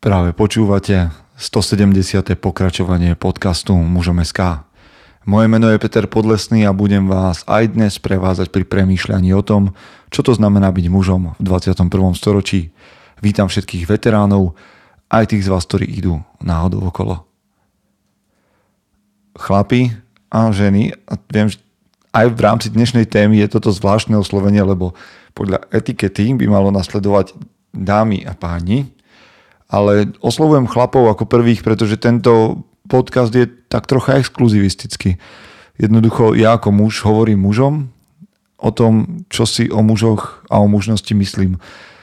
Práve počúvate 170. pokračovanie podcastu Mužom.sk. Moje meno je Peter Podlesný a budem vás aj dnes prevázať pri premýšľaní o tom, čo to znamená byť mužom v 21. storočí. Vítam všetkých veteránov, aj tých z vás, ktorí idú náhodou okolo. Chlapi a ženy, a viem, že aj v rámci dnešnej témy je toto zvláštne oslovenie, lebo podľa etikety by malo nasledovať dámy a páni, ale oslovujem chlapov ako prvých, pretože tento podcast je tak trocha exkluzivistický. Jednoducho ja ako muž hovorím mužom o tom, čo si o mužoch a o mužnosti myslím.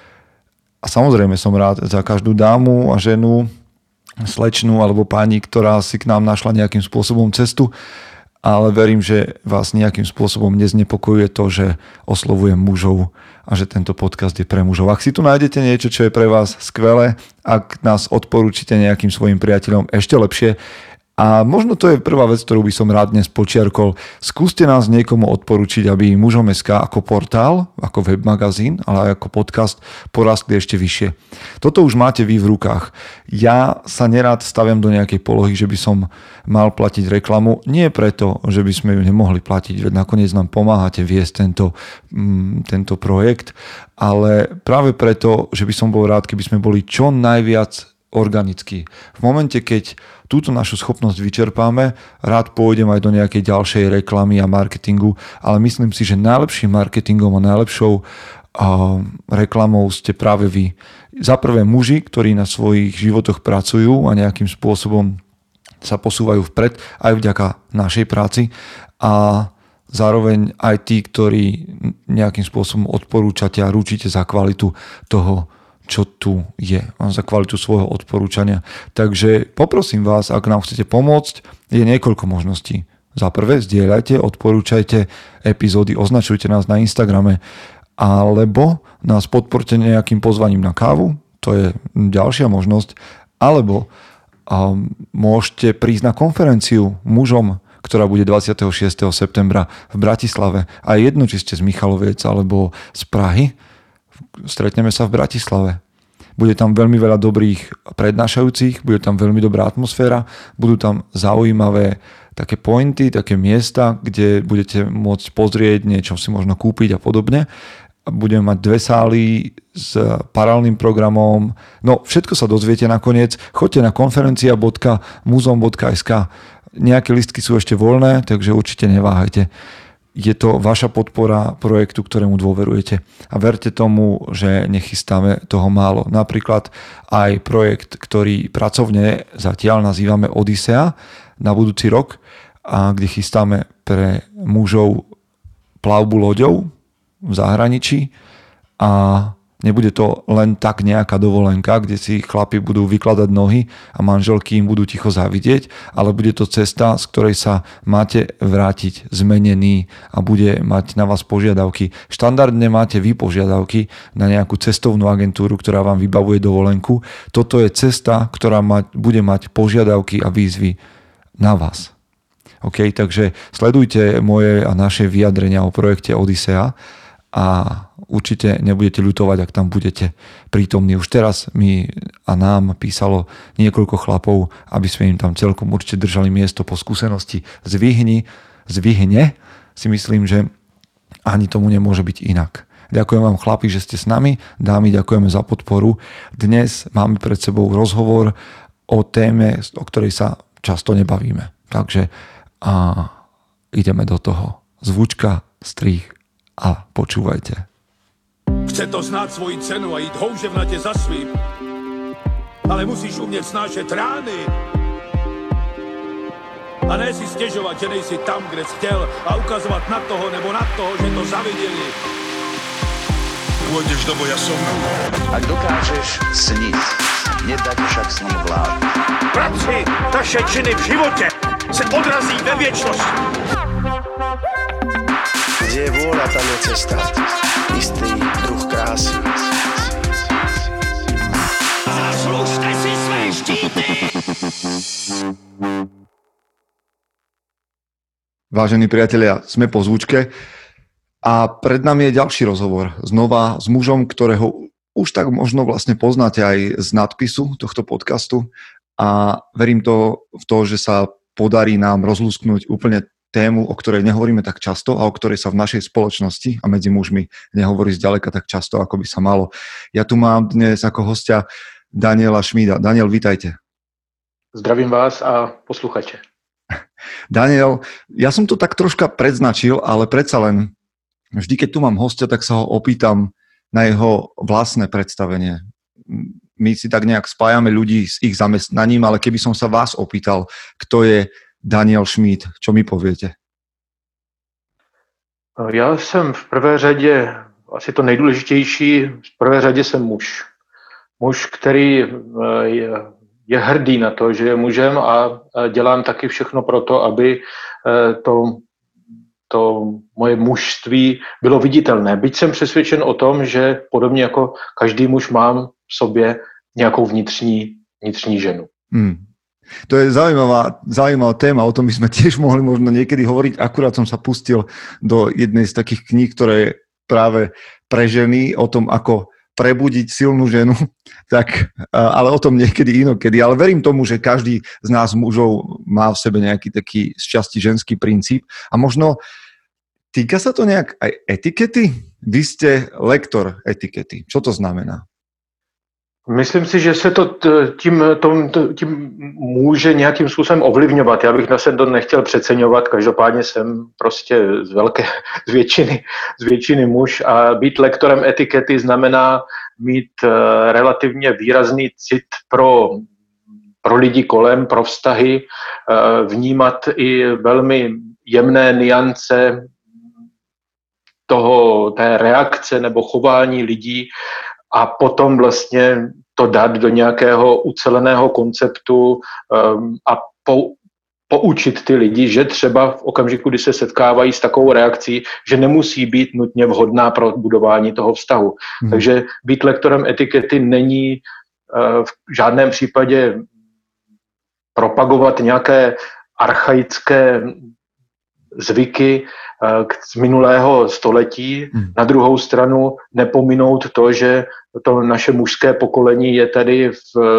A samozrejme som rád za každú dámu a ženu, slečnu alebo pani, ktorá si k nám našla nejakým spôsobom cestu, ale verím, že vás nejakým spôsobom neznepokojuje to, že oslovujem mužov a že tento podcast je pre mužov. Ak si tu nájdete niečo, čo je pre vás skvelé, ak nás odporúčite nejakým svojim priateľom, ešte lepšie. A možno to je prvá vec, ktorú by som rád dnes počiarkol. Skúste nás niekomu odporúčiť, aby Mužom.sk ako portál, ako webmagazín, ale aj ako podcast porastli ešte vyššie. Toto už máte vy v rukách. Ja sa nerád staviam do nejakej polohy, že by som mal platiť reklamu. Nie preto, že by sme ju nemohli platiť, veď nakoniec nám pomáhate viesť tento projekt, ale práve preto, že by som bol rád, keby sme boli čo najviac organicky. V momente, keď túto našu schopnosť vyčerpáme, rád pôjdem aj do nejakej ďalšej reklamy a marketingu, ale myslím si, že najlepším marketingom a najlepšou reklamou ste práve vy. Za prvé muži, ktorí na svojich životoch pracujú a nejakým spôsobom sa posúvajú vpred aj vďaka našej práci a zároveň aj tí, ktorí nejakým spôsobom odporúčate a ručíte za kvalitu toho, čo tu je, za kvalitu svojho odporúčania. Takže poprosím vás, ak nám chcete pomôcť, je niekoľko možností. Za prvé, zdieľajte, odporúčajte epizódy, označujte nás na Instagrame, alebo nás podporte nejakým pozvaním na kávu, to je ďalšia možnosť, alebo môžete prísť na konferenciu mužom, ktorá bude 26. septembra v Bratislave. A jedno, či ste z Michaloviec alebo z Prahy, stretneme sa v Bratislave. Bude tam veľmi veľa dobrých prednášajúcich, bude tam veľmi dobrá atmosféra, budú tam zaujímavé také pointy, také miesta, kde budete môcť pozrieť, niečo si možno kúpiť a podobne. Budeme mať 2 sály s paralelným programom. No, všetko sa dozviete nakoniec. Choďte na konferencia.muzom.sk. Nejaké listky sú ešte voľné, takže určite neváhajte. Je to vaša podpora projektu, ktorému dôverujete. A verte tomu, že nechystáme toho málo. Napríklad aj projekt, ktorý pracovne zatiaľ nazývame Odysea na budúci rok, a kde chystáme pre mužov plavbu loďou v zahraničí a nebude to len tak nejaká dovolenka, kde si chlapi budú vykladať nohy a manželky im budú ticho závidieť, ale bude to cesta, z ktorej sa máte vrátiť zmenený a bude mať na vás požiadavky. Štandardne máte vy požiadavky na nejakú cestovnú agentúru, ktorá vám vybavuje dovolenku. Toto je cesta, ktorá bude mať požiadavky a výzvy na vás. OK, takže sledujte moje a naše vyjadrenia o projekte Odysea a určite nebudete ľutovať, ak tam budete prítomní. Už teraz mi a nám písalo niekoľko chlapov, aby sme im tam celkom určite držali miesto po skúsenosti zvihne, si myslím, že ani tomu nemôže byť inak. Ďakujem vám, chlapi, že ste s nami. Dámy, ďakujeme za podporu. Dnes máme pred sebou rozhovor o téme, o ktorej sa často nebavíme. Takže ideme do toho. Zvučka, strih a počúvajte. Chce to znát svoji cenu a jít houževnatě za svým, ale musíš umět snášet rány a ne si stěžovat, že nejsi tam, kde jsi chtěl a ukazovat na toho nebo na toho, že to zaviděli. Pôjdeš do boja som. Ak dokážeš sniť, nedať však sním vlád. Práci, taše činy v životě se odrazí ve věčnosti. Kde je vôľa, tam je cesta. Istý druh krásy. Zaslužte si své štíty! Vážení priatelia, sme po zvučke a pred nami je ďalší rozhovor. Znova s mužom, ktorého už tak možno vlastne poznáte aj z nadpisu tohto podcastu a verím v to, že sa podarí nám rozlúsknuť úplne tému, o ktorej nehovoríme tak často a o ktorej sa v našej spoločnosti a medzi mužmi nehovorí zďaleka tak často, ako by sa malo. Ja tu mám dnes ako hostia Daniela Šmída. Daniel, vítajte. Zdravím vás a posluchače. Daniel, ja som to tak troška predznačil, ale predsa len vždy, keď tu mám hostia, tak sa ho opýtam na jeho vlastné predstavenie. My si tak nejak spájame ľudí s ich zamestnaním, ale keby som sa vás opýtal, kto je Daniel Šmíd, čo mi poviete? Já jsem v prvé řadě, asi to nejdůležitější, v prvé řadě jsem muž. Muž, který je hrdý na to, že je mužem a dělám taky všechno pro to, aby to moje mužství bylo viditelné. Byť jsem přesvědčen o tom, že podobně jako každý muž mám v sobě nějakou vnitřní ženu. To je zaujímavá téma, o tom by sme tiež mohli možno niekedy hovoriť. Akurát som sa pustil do jednej z takých kníh, ktoré práve pre ženy, o tom, ako prebudiť silnú ženu, tak, ale o tom niekedy inokedy. Ale verím tomu, že každý z nás mužov má v sebe nejaký taký z časti ženský princíp. A možno týka sa to nejak aj etikety? Vy ste lektor etikety. Čo to znamená? Myslím si, že se to tím může nějakým způsobem ovlivňovat. Já bych se to nechtěl přeceňovat, každopádně jsem prostě z většiny muž a být lektorem etikety znamená mít relativně výrazný cit pro lidi kolem, pro vztahy, vnímat i velmi jemné nuance té reakce nebo chování lidí, a potom vlastně to dát do nějakého uceleného konceptu a poučit ty lidi, že třeba v okamžiku, kdy se setkávají s takovou reakcí, že nemusí být nutně vhodná pro budování toho vztahu. Takže být lektorem etikety není v žádném případě propagovat nějaké archaické zvyky z minulého století. Na druhou stranu nepominout to, že to naše mužské pokolení je tady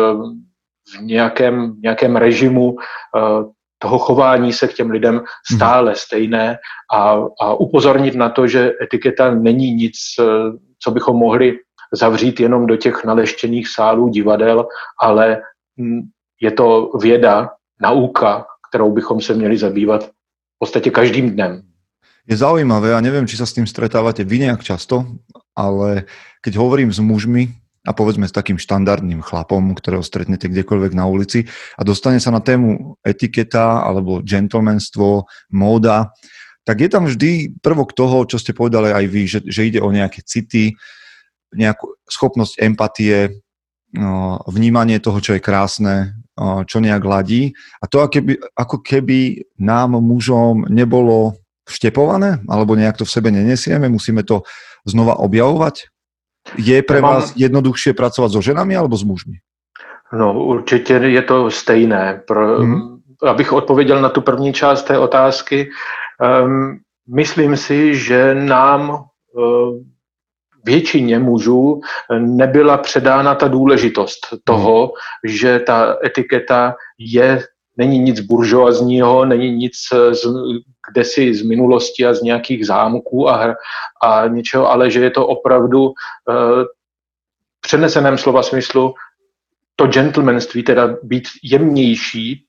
v nějakém režimu toho chování se k těm lidem stále stejné a upozornit na to, že etiketa není nic, co bychom mohli zavřít jenom do těch naleštěných sálů divadel, ale je to věda, nauka, kterou bychom se měli zabývat v podstatě každým dnem. Je zaujímavé, a neviem, či sa s tým stretávate vy nejak často, ale keď hovorím s mužmi a povedzme s takým štandardným chlapom, ktorého stretnete kdekoľvek na ulici a dostane sa na tému etiketa alebo gentlemanstvo, móda, tak je tam vždy prvok toho, čo ste povedali aj vy, že ide o nejaké city, nejakú schopnosť empatie, vnímanie toho, čo je krásne, čo nejak ladí. A to ako keby nám mužom nebolo vštepované, alebo nejak to v sebe nenesieme, musíme to znova objavovať? Je pre vás jednoduchšie pracovať so ženami alebo s mužmi? No, určitě je to stejné. Abych odpověděl na tu první část té otázky, myslím si, že nám většině mužů nebyla předána ta důležitost toho, že ta etiketa není nic buržoazního, není nic kdesi z minulosti a z nějakých zámků a něčeho, ale že je to opravdu v přeneseném slova smyslu to gentlemanství, teda být jemnější,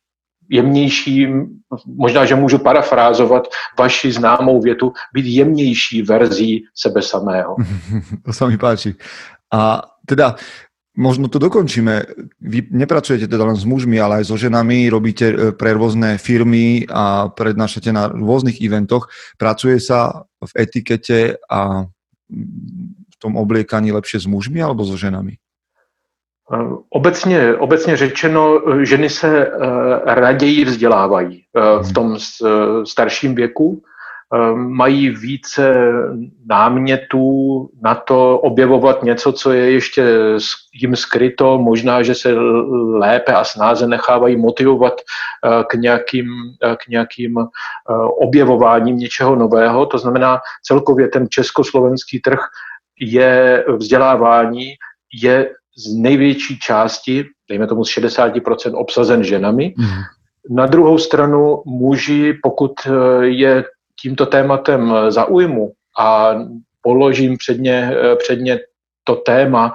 možná, že můžu parafrázovat vaši známou větu, být jemnější verzí sebe samého. To sa mi páči. A teda možno to dokončíme. Vy nepracujete teda len s mužmi, ale aj so ženami, robíte pre rôzne firmy a prednášate na rôznych eventoch. Pracuje sa v etikete a v tom obliekaní lepšie s mužmi alebo so ženami? Obecně řečeno, ženy se raději vzdělávají v tom starším věku, mají více námětů na to objevovat něco, co je ještě jim skryto, možná, že se lépe a snáze nechávají motivovat k nějakým objevováním něčeho nového. To znamená, celkově ten československý trh je vzdělávání je z největší části, dejme tomu z 60% obsazen ženami. Na druhou stranu muži, pokud je tímto tématem zaujmu a položím před ně to téma,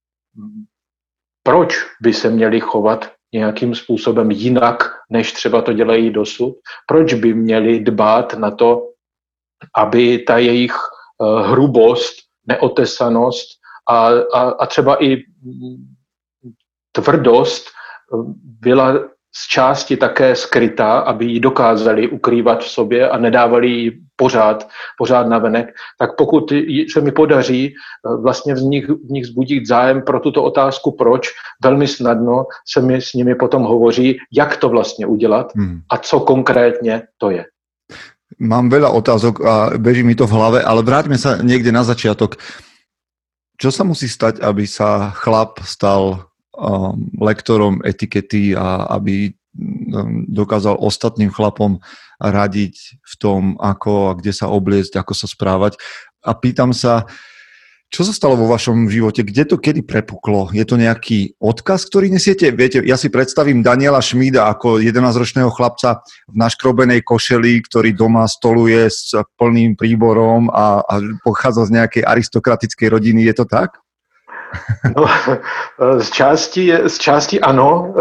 proč by se měli chovat nějakým způsobem jinak, než třeba to dělají dosud, proč by měli dbát na to, aby ta jejich hrubost, neotesanost a třeba i tvrdost byla z části také skrytá, aby ji dokázali ukrývat v sobě a nedávali ji pořád navenek, tak pokud se mi podaří vlastně v nich zbudit zájem pro tuto otázku proč, velmi snadno se mi s nimi potom hovoří, jak to vlastně udělat a co konkrétně to je. Mám veľa otázok a beží mi to v hlave, ale vráťme sa niekde na začiatok. Čo sa musí stať, aby sa chlap stal lektorom etikety a aby dokázal ostatným chlapom radiť v tom, ako a kde sa obliecť, ako sa správať. A pýtam sa, čo sa stalo vo vašom živote? Kde to kedy prepuklo? Je to nejaký odkaz, ktorý nesiete? Viete, ja si predstavím Daniela Šmída ako 11-ročného chlapca v naškrobenej košeli, ktorý doma stoluje s plným príborom a pochádza z nejakej aristokratickej rodiny. Je to tak? No, z části ano,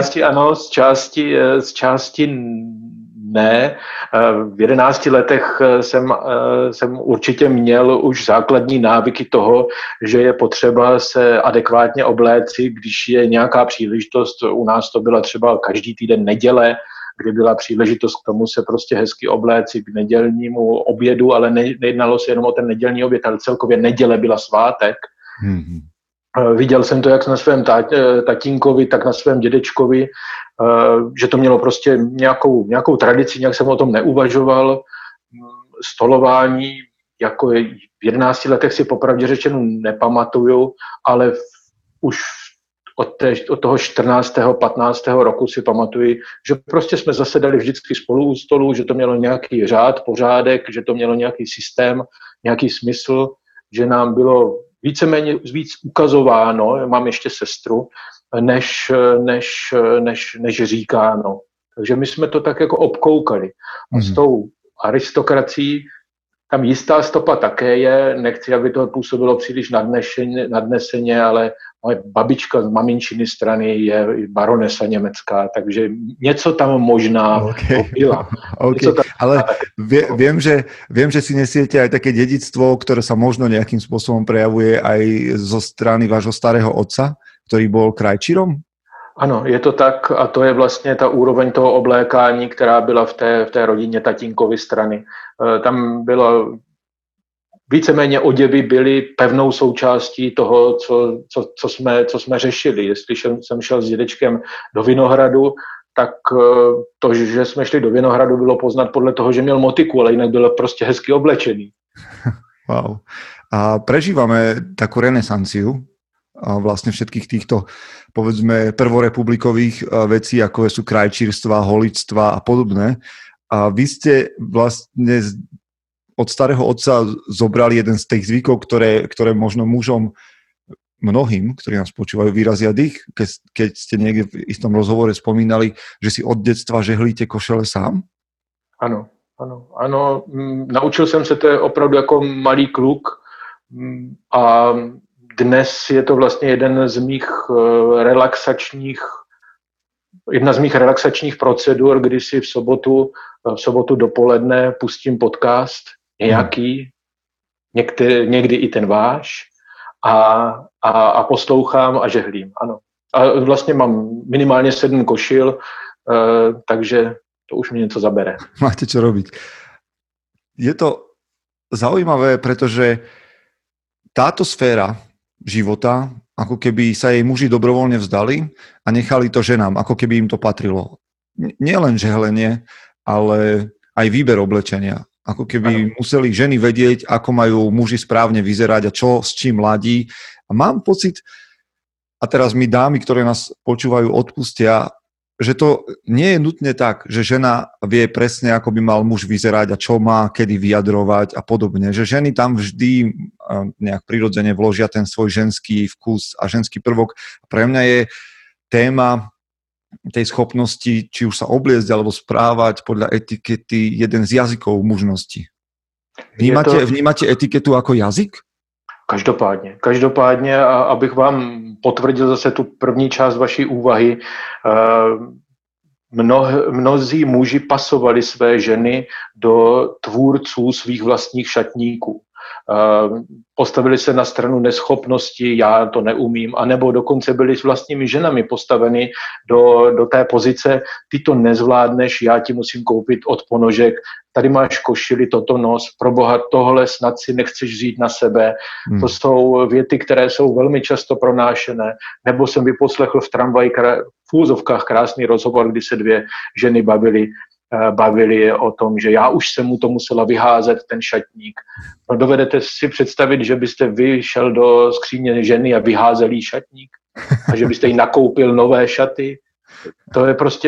z části ne. V 11 letech jsem určitě měl už základní návyky toho, že je potřeba se adekvátně obléci, když je nějaká příležitost. U nás to byla třeba každý týden neděle, kdy byla příležitost k tomu se prostě hezky obléci k nedělnímu obědu, ale nejednalo se jenom o ten nedělní oběd, ale celkově neděle byla svátek. Viděl jsem to jak na svém tatínkovi, tak na svém dědečkovi, že to mělo prostě nějakou tradici, nějak jsem o tom neuvažoval. Stolování, jako v 11 letech si popravdě řečeno nepamatuju, ale už od toho 14. 15. roku si pamatuju, že prostě jsme zasedali vždycky spolu u stolu, že to mělo nějaký řád, pořádek, že to mělo nějaký systém, nějaký smysl, že nám bylo víceméně víc ukazováno, mám ještě sestru, než říkáno. Takže my jsme to tak jako obkoukali. A s tou aristokracií tam jistá stopa také je, nechci, aby to působilo příliš nadneseně, ale moje babička z maminčiny strany je baronesa německá, takže něco tam možná byla. Okay. Ale viem, že si nesiete aj také dedičstvo, ktoré sa možno nejakým spôsobom prejavuje aj zo strany vášho starého otca, ktorý bol krajčírom? Ano, je to tak a to je vlastně ta úroveň toho oblékání, která byla v té rodině tatínkovy strany. Tam bylo víceméně oděvy byly pevnou součástí toho, co jsme řešili. Jestli jsem šel s dědečkem do Vinohradu, tak to, že jsme šli do Vinohradu, bylo poznat podle toho, že měl motiku, ale jinak byl prostě hezky oblečený. Wow. A prežívame takú renesanciu a vlastne všetkých týchto, povedzme, prvorepublikových vecí, ako sú krajčírstva, holičstva a podobné. A vy ste vlastne od starého otca zobrali jeden z tých zvykov, ktoré možno mužom mnohým, ktorí nás počúvajú, vyrazia dých, keď ste niekde v istom rozhovore spomínali, že si od detstva žehlíte košele sám? Ano. Naučil jsem se to opravdu jako malý kluk a dnes je to vlastně jedna z mých relaxačních procedur, kdy si v sobotu dopoledne pustím podcast nějaký, někdy i ten váš a poslouchám a žehlím, ano. A vlastně mám minimálně 7 košil, takže to už mi něco zabere. Máte čo robiť. Je to zaujímavé, pretože táto sféra života, ako keby sa jej muži dobrovoľne vzdali a nechali to ženám, ako keby im to patrilo. Nielen žehlenie, ale aj výber oblečenia. Ako keby museli ženy vedieť, ako majú muži správne vyzerať a čo s čím ladí. A mám pocit, a teraz mi dámy, ktoré nás počúvajú, odpustia, že to nie je nutne tak, že žena vie presne, ako by mal muž vyzerať a čo má kedy vyjadrovať a podobne. Že ženy tam vždy nejak prirodzene vložia ten svoj ženský vkus a ženský prvok. Pre mňa je téma tej schopnosti, či už sa obliecť alebo správať podľa etikety, jeden z jazykov mužnosti. Vnímate etiketu ako jazyk? Každopádně, a abych vám potvrdil zase tu první část vaší úvahy, mnozí muži pasovali své ženy do tvůrců svých vlastních šatníků. Postavili se na stranu neschopnosti, já to neumím, anebo dokonce byli s vlastními ženami postaveni do té pozice, ty to nezvládneš, já ti musím koupit od ponožek, tady máš košili, toto nos, proboha, tohle snad si nechceš vzít na sebe. To jsou věty, které jsou velmi často pronášené. Nebo jsem vyposlechl v tramvaji v úzovkách krásný rozhovor, kdy se dvě ženy bavili o tom, že já už jsem mu to musela vyházet, ten šatník. No, dovedete si představit, že byste vy šel do skříně ženy a vyházel jí šatník? A že byste jí nakoupil nové šaty? To je prostě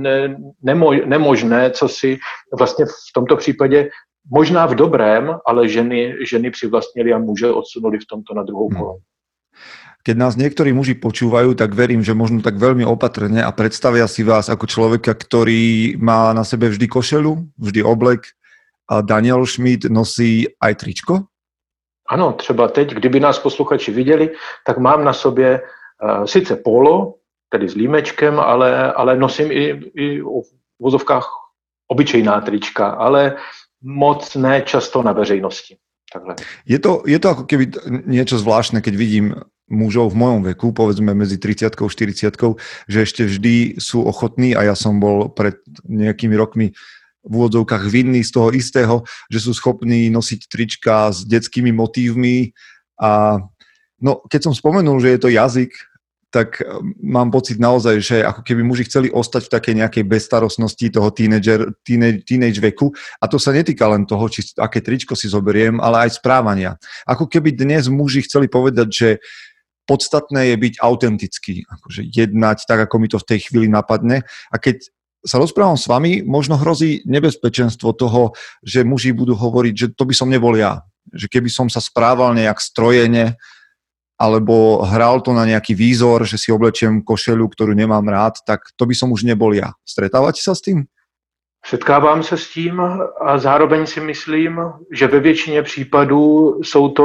nemožné, co si vlastně v tomto případě, možná v dobrém, ale ženy přivlastnili a muže odsunuli v tomto na druhou kolonu. Keď nás niektorí muži počúvajú, tak verím, že možno tak veľmi opatrne a predstavia si vás ako človeka, ktorý má na sebe vždy košelu, vždy oblek a Daniel Schmidt nosí aj tričko? Ano, třeba teď, kdyby nás posluchači viděli, tak mám na sobě sice polo, tedy s límečkem, ale nosím i v vozovkách obyčejná trička, ale moc ne často na veřejnosti. Takhle. Je to ako keby niečo zvláštne, keď vidím mužov v mojom veku, povedzme medzi 30 a 40, že ešte vždy sú ochotní, a ja som bol pred nejakými rokmi v úvodzovkách vinný z toho istého, že sú schopní nosiť trička s detskými motívmi a no, keď som spomenul, že je to jazyk, tak mám pocit naozaj, že ako keby muži chceli ostať v takej nejakej bezstarostnosti toho teenage veku. A to sa netýka len toho, či aké tričko si zoberiem, ale aj správania. Ako keby dnes muži chceli povedať, že podstatné je byť autentický, akože jednať tak, ako mi to v tej chvíli napadne. A keď sa rozprávam s vami, možno hrozí nebezpečenstvo toho, že muži budú hovoriť, že to by som nebol ja. Že keby som sa správal nejak strojene, alebo hral to na nejaký výzor, že si oblečiem košelu, ktorú nemám rád, tak to by som už nebol ja. Stretávate sa s tým? Setkávám se s tím a zároveň si myslím, že ve většině případů jsou to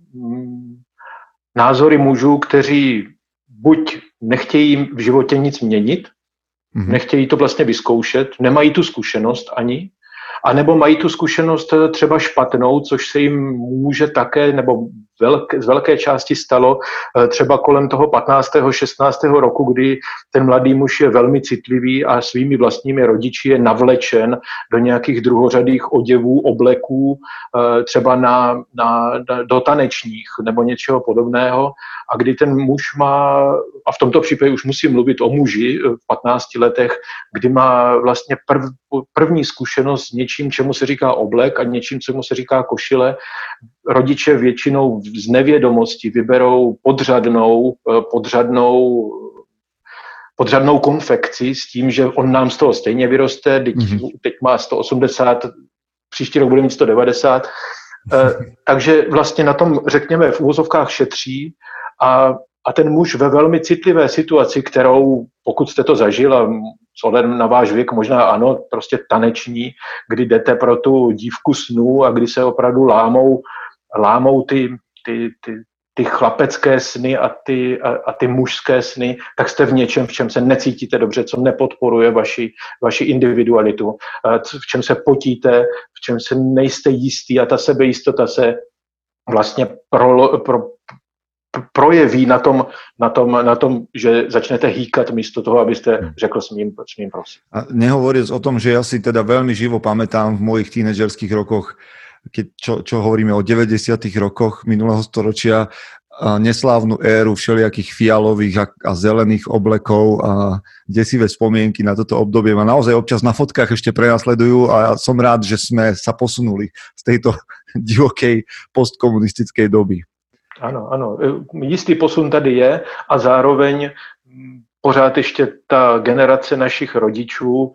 názory mužů, kteří buď nechtějí v životě nic měnit, nechtějí to vlastně vyzkoušet, nemají tu zkušenost ani, anebo mají tu zkušenost třeba špatnou, což se jim může také, nebo z velké části stalo třeba kolem toho 15. 16. roku, kdy ten mladý muž je velmi citlivý a svými vlastními rodiči je navlečen do nějakých druhořadých oděvů, obleků, třeba do tanečních nebo něčeho podobného. A kdy ten muž má, a v tomto případě už musím mluvit o muži v 15 letech, kdy má vlastně první zkušenost s něčím, čemu se říká oblek a něčím, čemu se říká košile. Rodiče většinou z nevědomosti vyberou podřadnou konfekci s tím, že on nám z toho stejně vyroste, teď má 180, příští rok bude mít 190, takže vlastně na tom, řekněme, v úvozovkách šetří a ten muž ve velmi citlivé situaci, kterou, pokud jste to zažil a s ohledem na váš věk možná ano, prostě taneční, kdy jdete pro tu dívku snů a kdy se opravdu lámou ty chlapecké sny a ty mužské sny, tak jste v něčem, v čem se necítíte dobře, co nepodporuje vaši individualitu, v čem se potíte, v čem se nejste jistý a ta sebejistota se vlastně projeví na tom, že začnete hýkat místo toho, abyste řekl smím prosím. A nehovoriac o tom, že ja si teda veľmi živo pamätám v mojich tínedžerských rokoch, čo hovoríme o 90. rokoch minulého storočia, neslávnu éru všelijakých fialových a zelených oblekov a desivé spomienky na toto obdobie ma naozaj občas na fotkách ešte prenasledujú a ja som rád, že sme sa posunuli z tejto divokej postkomunistickej doby. Ano, jistý posun tady je a zároveň pořád ještě ta generace našich rodičů,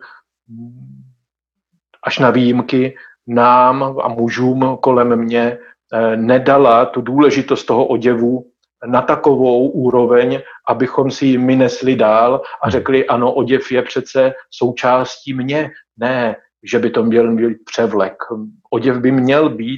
až na výjimky, nám a mužům kolem mě nedala tu důležitost toho oděvu na takovou úroveň, abychom si ji my nesli dál a řekli, ano, oděv je přece součástí mě. Ne, že by to měl být převlek. Oděv by měl být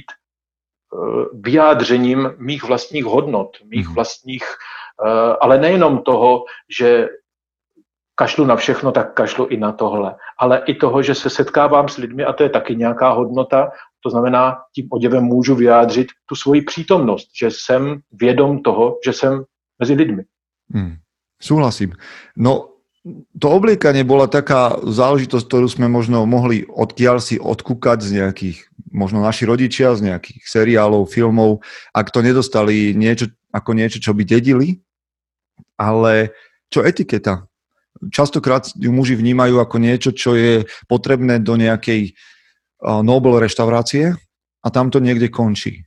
vyjádřením mých vlastních hodnot, mých vlastních, ale nejenom toho, že kašlu na všechno, tak kašlu i na tohle. Ale i toho, že se setkávám s lidmi a to je taky nějaká hodnota, to znamená, tím oděvem můžu vyjádřit tu svoji přítomnost, že jsem vědom toho, že jsem mezi lidmi. Súhlasím. No, to obliekanie bola taká záležitosť, ktorú sme možno mohli odkiaľ si odkúkať z nejakých, možno naši rodičia, z nejakých seriálov, filmov, ak to nedostali niečo, čo by dedili, ale čo etiketa? Častokrát ju muži vnímajú ako niečo, čo je potrebné do nejakej Nobel reštaurácie a tam to niekde končí.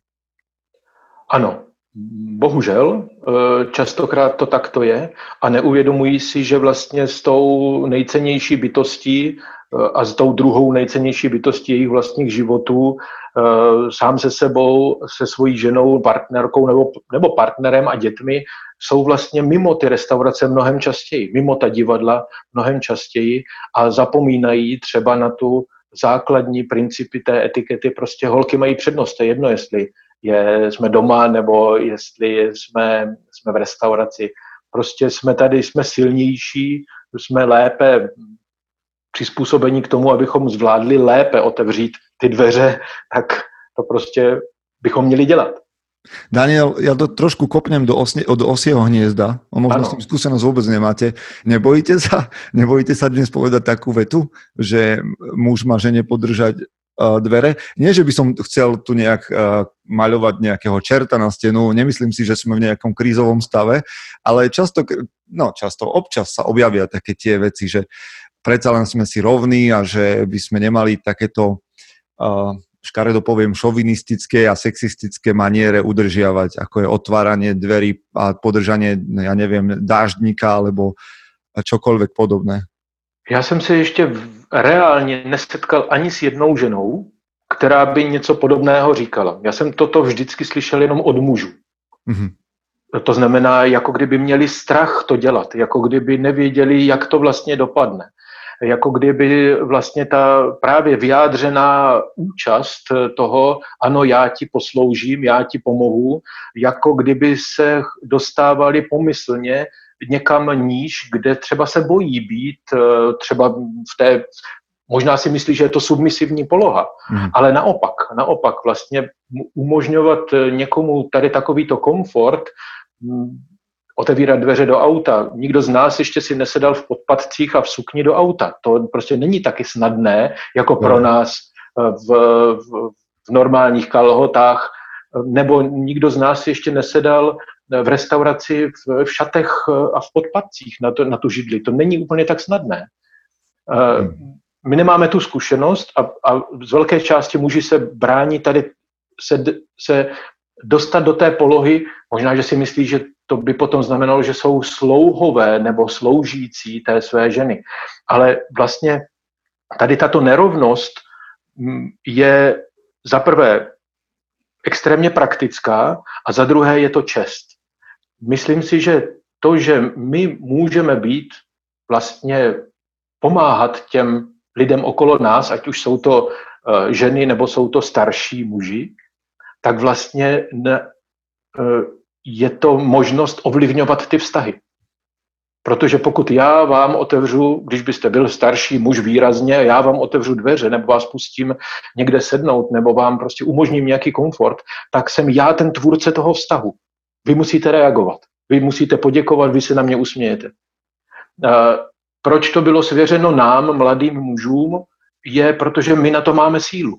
Ano, bohužel, častokrát to takto je a neuvědomují si, že vlastně s tou nejcennější bytostí a s tou druhou nejcennější bytostí jejich vlastních životů, sám se sebou, se svojí ženou, partnerkou nebo partnerem a dětmi, jsou vlastně mimo ty restaurace mnohem častěji, mimo ta divadla mnohem častěji a zapomínají třeba na tu základní principy té etikety. Prostě holky mají přednost, to je jedno, jestli jsme doma nebo jestli jsme v restauraci. Prostě jsme tady, jsme silnější, jsme lépe přizpůsobení k tomu, abychom zvládli lépe otevřít ty dveře, tak to prostě bychom měli dělat. Daniel, ja to trošku kopnem do osieho hniezda. Možno s tým skúsenosť vôbec nemáte. Nebojíte sa dnes povedať takú vetu, že muž má žene podržať dvere? Nie, že by som chcel tu nejak maľovať nejakého čerta na stenu, nemyslím si, že sme v nejakom krízovom stave, ale občas sa objavia také tie veci, že predsa len sme si rovní a že by sme nemali takéto škaredo poviem, šovinistické a sexistické maniere udržiavať, ako je otváranie dverí a podržanie, ja neviem, dáždníka alebo čokoľvek podobné. Já jsem se ještě reálně nesetkal ani s jednou ženou, která by něco podobného říkala. Já jsem toto vždycky slyšel jenom od mužů. Mm-hmm. To znamená, jako kdyby měli strach to dělat, jako kdyby nevěděli, jak to vlastně dopadne. Jako kdyby vlastně ta právě vyjádřená účast toho, ano, já ti posloužím, já ti pomohu, jako kdyby se dostávali pomyslně někam níž, kde třeba se bojí být, třeba v té, možná si myslí, že je to submisivní poloha, ale naopak vlastně umožňovat někomu tady takovýto komfort, otevírat dveře do auta. Nikdo z nás ještě si nesedal v podpatcích a v sukni do auta. To prostě není taky snadné, jako pro nás v normálních kalhotách, nebo nikdo z nás ještě nesedal v restauraci v šatech a v podpatcích na tu židli. To není úplně tak snadné. My nemáme tu zkušenost a z velké části muži se brání tady se dostat do té polohy, možná, že si myslí, že to by potom znamenalo, že jsou slouhové nebo sloužící té své ženy. Ale vlastně tady tato nerovnost je za prvé extrémně praktická a za druhé je to čest. Myslím si, že to, že my můžeme být vlastně pomáhat těm lidem okolo nás, ať už jsou to ženy nebo jsou to starší muži, tak vlastně je to možnost ovlivňovat ty vztahy. Protože pokud já vám otevřu, když byste byl starší muž výrazně, já vám otevřu dveře, nebo vás pustím někde sednout, nebo vám prostě umožním nějaký komfort, tak jsem já ten tvůrce toho vztahu. Vy musíte reagovat, vy musíte poděkovat, vy se na mě usmějete. Proč to bylo svěřeno nám, mladým mužům, je, protože my na to máme sílu.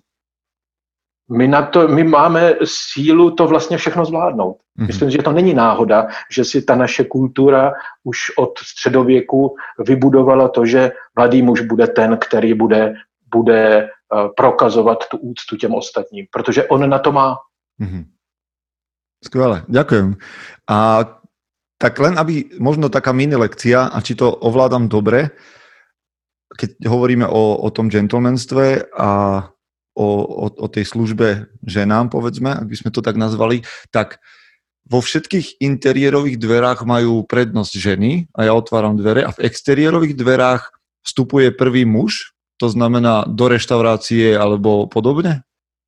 My máme sílu to vlastně všechno zvládnout. Myslím, že to není náhoda, že si ta naše kultura už od středověku vybudovala to, že mladý muž bude ten, který bude prokazovat tu úctu těm ostatním, protože on na to má. Skvěle, ďakujem. A Tak len aby možno taká mini lekcia, a či to ovládam dobre, keď hovoríme o tom gentlemanstve a o tej službe ženám, povedzme, ak by sme to tak nazvali, tak vo všetkých interiérových dverách majú prednosť ženy a ja otváram dvere a v exteriérových dverách vstupuje prvý muž, to znamená do reštaurácie alebo podobne?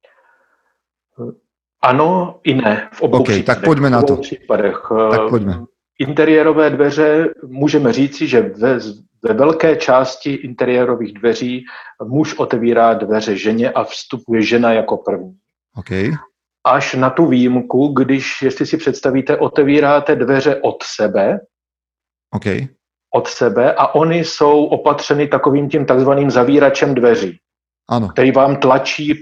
Ano i ne, v obou případech. Tak pojďme na to. Tak pojďme. Interiérové dveře, můžeme říci, že ve velké části interiérových dveří muž otevírá dveře ženě a vstupuje žena jako první. Okay. Až na tu výjimku, když, jestli si představíte, otevíráte dveře od sebe, od sebe a oni jsou opatřeny takovým tím takzvaným zavíračem dveří, ano, který vám tlačí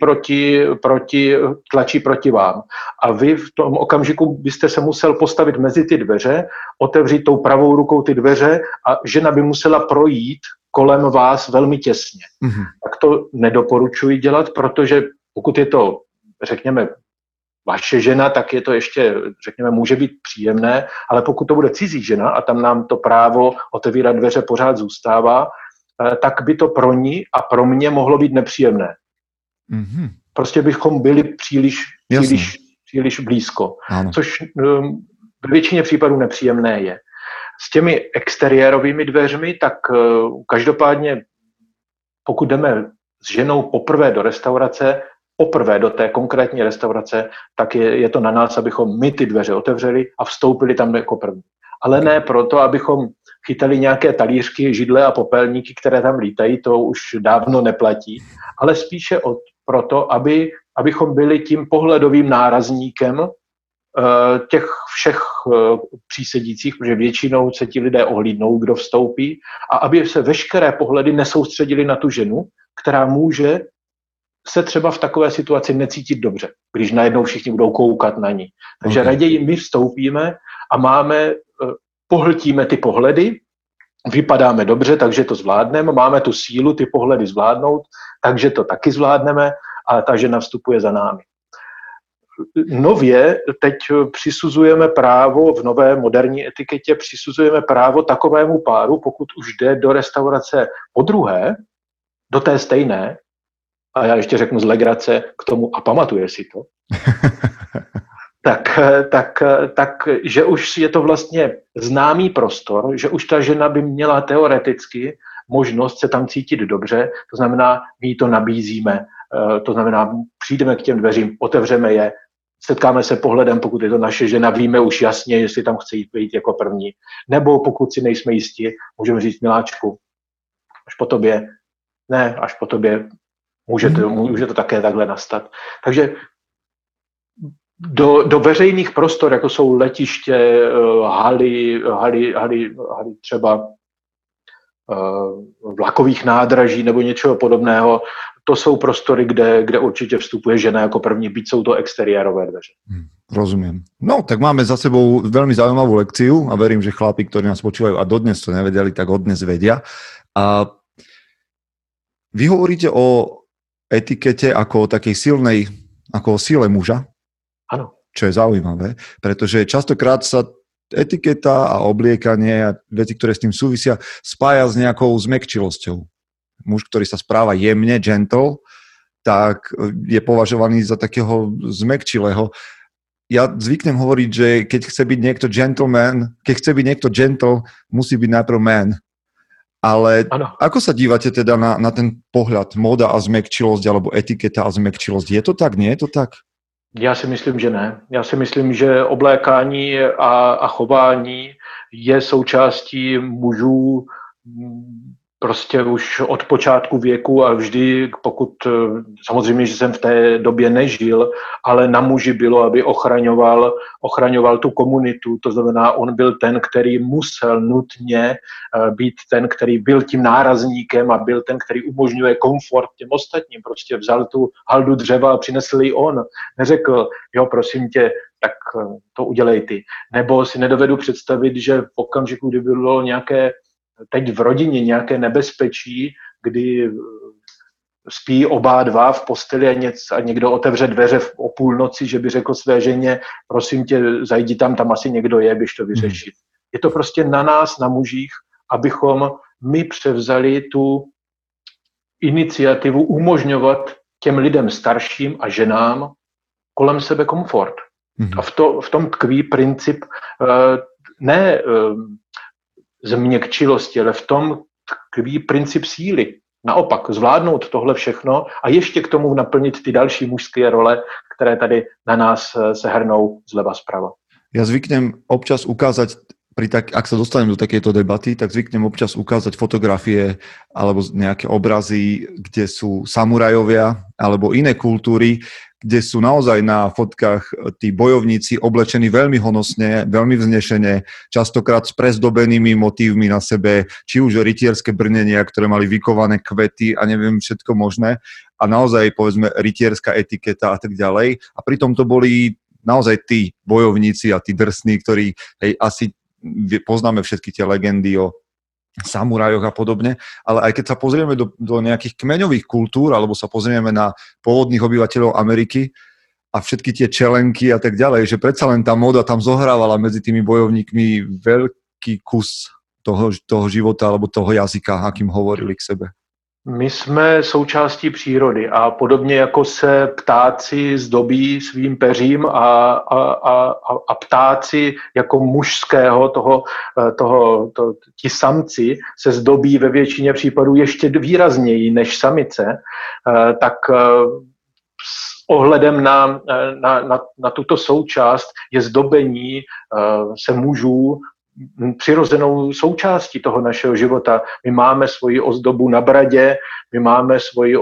proti vám. A vy v tom okamžiku byste se musel postavit mezi ty dveře, otevřít tou pravou rukou ty dveře a žena by musela projít kolem vás velmi těsně. Mm-hmm. Tak to nedoporučuji dělat, protože pokud je to, řekněme, vaše žena, tak je to ještě, řekněme, může být příjemné, ale pokud to bude cizí žena a tam nám to právo otevírat dveře pořád zůstává, tak by to pro ní a pro mě mohlo být nepříjemné. Mm-hmm. Prostě bychom byli příliš blízko, ano, což ve většině případů nepříjemné je. S těmi exteriérovými dveřmi, tak každopádně, pokud jdeme s ženou poprvé do restaurace, poprvé do té konkrétní restaurace, tak je to na nás, abychom my ty dveře otevřeli a vstoupili tam jako první. Ale ne proto, abychom chytali nějaké talířky, židle a popelníky, které tam lítají, to už dávno neplatí, ale spíše proto, abychom byli tím pohledovým nárazníkem těch všech přísedících, protože většinou se ti lidé ohlídnou, kdo vstoupí, a aby se veškeré pohledy nesoustředili na tu ženu, která může se třeba v takové situaci necítit dobře, když najednou všichni budou koukat na ní. Takže raději my vstoupíme a pohltíme ty pohledy, vypadáme dobře, takže to zvládneme, máme tu sílu ty pohledy zvládnout, takže to taky zvládneme, ale ta žena vstupuje za námi. Nově teď přisuzujeme právo, v nové moderní etiketě přisuzujeme právo takovému páru, pokud už jde do restaurace podruhé, do té stejné, a já ještě řeknu z legrace k tomu a pamatuje si to, tak, že už je to vlastně známý prostor, že už ta žena by měla teoreticky možnost se tam cítit dobře, to znamená, my jí to nabízíme, to znamená, přijdeme k těm dveřím, otevřeme je, setkáme se pohledem, pokud je to naše žena, víme už jasně, jestli tam chce jít jako první, nebo pokud si nejsme jistí, můžeme říct, miláčku, až po tobě může to také takhle nastat. Takže do veřejných prostor, jako jsou letiště, haly třeba vlakových nádraží nebo něčeho podobného, to jsou prostory, kde určitě vstupuje žena jako první, byť jsou to exteriérové dveře. Rozumiem. No, tak máme za sebou veľmi zaujímavú lekciu a verím, že chlapi, ktorí nás počúvajú a dodnes to nevedeli, tak od dnes vedia. A vy hovoríte o etikete ako o takej silnej, ako o sile muža. Áno. Čo je zaujímavé, pretože častokrát sa etiketa a obliekanie a veci, ktoré s tým súvisia, spája s nejakou zmäkčilosťou. Muž, ktorý sa správa jemne, gentle, tak je považovaný za takého zmäkčilého. Ja zvyknem hovoriť, že keď chce byť niekto gentleman, keď chce byť niekto gentle, musí byť najprv man. Ale ano. Ako sa dívate teda na ten pohľad móda a zmäkčilosť alebo etiketa a zmäkčilosť? Je to tak, nie je to tak? Já si myslím, že ne. Já si myslím, že oblékání a chování je součástí mužů prostě už od počátku věku a vždy, pokud, samozřejmě, že jsem v té době nežil, ale na muži bylo, aby ochraňoval tu komunitu, to znamená, on byl ten, který musel nutně být ten, který byl tím nárazníkem a byl ten, který umožňuje komfort těm ostatním, prostě vzal tu haldu dřeva a přinesl ji on, neřekl, jo, prosím tě, tak to udělej ty. Nebo si nedovedu představit, že v okamžiku, kdy bylo nějaké teď v rodině nějaké nebezpečí, kdy spí oba dva v posteli a někdo otevře dveře o půlnoci, že by řekl své ženě, prosím tě, zajdi tam asi někdo je, běž to vyřešit. Je to prostě na nás, na mužích, abychom my převzali tu iniciativu umožňovat těm lidem starším a ženám kolem sebe komfort. A v tom tkví princip ne změkčilosti, ale v tom tkví princip síly. Naopak, zvládnout tohle všechno a ještě k tomu naplnit ty další mužské role, které tady na nás se hrnou zleva zprava. Ja zvyknem občas ukázať, ak sa dostanem do takejto debaty, tak zvyknem občas ukázať fotografie alebo nejaké obrazy, kde sú samurajovia alebo iné kultúry, kde sú naozaj na fotkách tí bojovníci oblečení veľmi honosne, veľmi vznešene, častokrát s prezdobenými motívmi na sebe, či už rytierské brnenia, ktoré mali vykované kvety a neviem všetko možné, a naozaj povedzme rytierská etiketa a tak ďalej. A pritom to boli naozaj tí bojovníci a tí drsní, ktorí asi poznáme všetky tie legendy o samurajoch a podobne, ale aj keď sa pozrieme do nejakých kmeňových kultúr, alebo sa pozrieme na pôvodných obyvateľov Ameriky a všetky tie čelenky a tak ďalej, že predsa len tá móda tam zohrávala medzi tými bojovníkmi veľký kus toho života alebo toho jazyka, akým hovorili k sebe. My jsme součástí přírody a podobně jako se ptáci zdobí svým peřím a ptáci jako mužského ti samci se zdobí ve většině případů ještě výrazněji než samice, tak s ohledem na tuto součást je zdobení se mužů přirozenou součástí toho našeho života. My máme svoji ozdobu na bradě, my máme svoji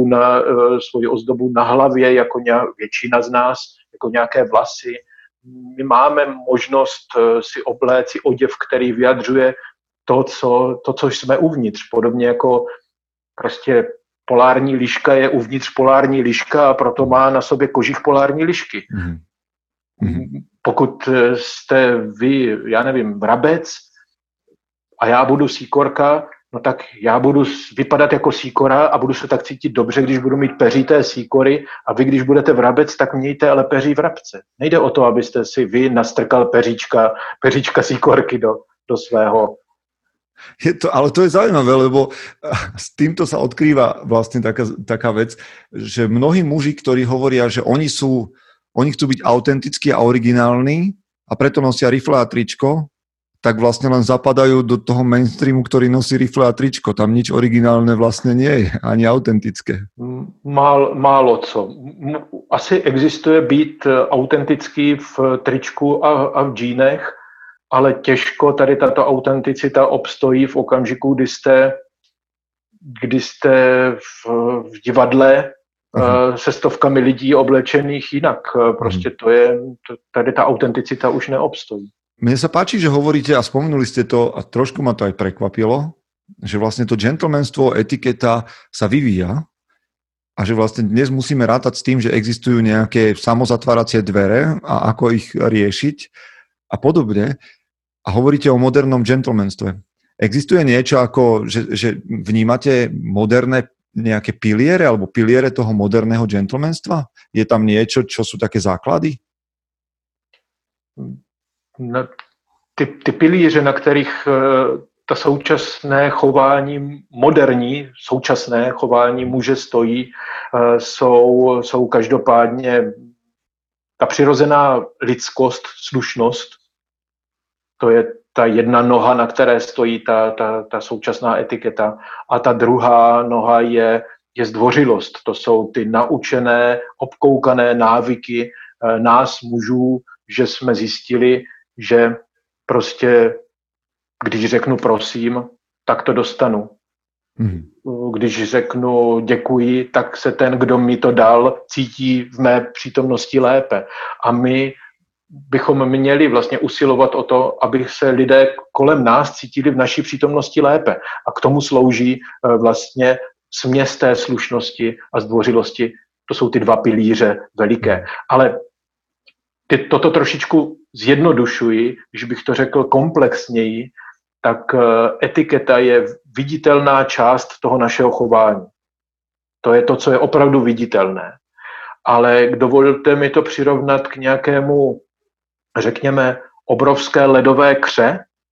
ozdobu na hlavě, jako většina z nás, jako nějaké vlasy. My máme možnost si obléci oděv, který vyjadřuje to, co jsme uvnitř. Podobně jako prostě polární liška je uvnitř polární liška a proto má na sobě kožich polární lišky. Pokud jste vy, já nevím, vrabec a já budu síkorka, no tak já budu vypadat jako síkora a budu se tak cítit dobře, když budu mít peří té síkory, a vy, když budete vrabec, tak mějte ale peří vrabce. Nejde o to, abyste si vy nastrkal peříčka síkorky do svého. Ale to je zaujímavé, lebo s týmto sa odkrýva vlastne taká vec, že mnohí muži, ktorí hovoria, že oni chcú byť autentickí a originálni a preto nosia rifle a tričko, tak vlastne len zapadajú do toho mainstreamu, ktorý nosí rifle a tričko. Tam nič originálne vlastne nie je, ani autentické. Málo co. Asi existuje být autentický v tričku a v džínech, ale těžko tady tato autenticita obstojí v okamžiku, kdy jste v divadle se stovkami lidí oblečených jinak. Prostě tady ta autenticita už neobstojí. Mne sa páči, že hovoríte a spomenuli ste to a trošku ma to aj prekvapilo, že vlastne to gentlemanstvo, etiketa sa vyvíja a že vlastne dnes musíme rátať s tým, že existujú nejaké samozatváracie dvere a ako ich riešiť a podobne. A hovoríte o modernom gentlemanstve. Existuje niečo ako, že vnímate moderné nejaké piliere alebo piliere toho moderného gentlemanstva? Je tam niečo, čo sú také základy? Ty pilíře, na kterých ta současné chování, moderní současné chování muže stojí, jsou každopádně ta přirozená lidskost, slušnost. To je ta jedna noha, na které stojí ta současná etiketa. A ta druhá noha je zdvořilost. To jsou ty naučené, obkoukané návyky nás mužů, že jsme zjistili, že prostě, když řeknu prosím, tak to dostanu. Když řeknu děkuji, tak se ten, kdo mi to dal, cítí v mé přítomnosti lépe. A my bychom měli vlastně usilovat o to, aby se lidé kolem nás cítili v naší přítomnosti lépe. A k tomu slouží vlastně směs té slušnosti a zdvořilosti. To jsou ty dva pilíře veliké. Ale toto trošičku zjednodušuji, když bych to řekl komplexněji, tak etiketa je viditelná část toho našeho chování. To je to, co je opravdu viditelné. Ale dovolte mi to přirovnat k nějakému, řekněme, obrovské ledové kře,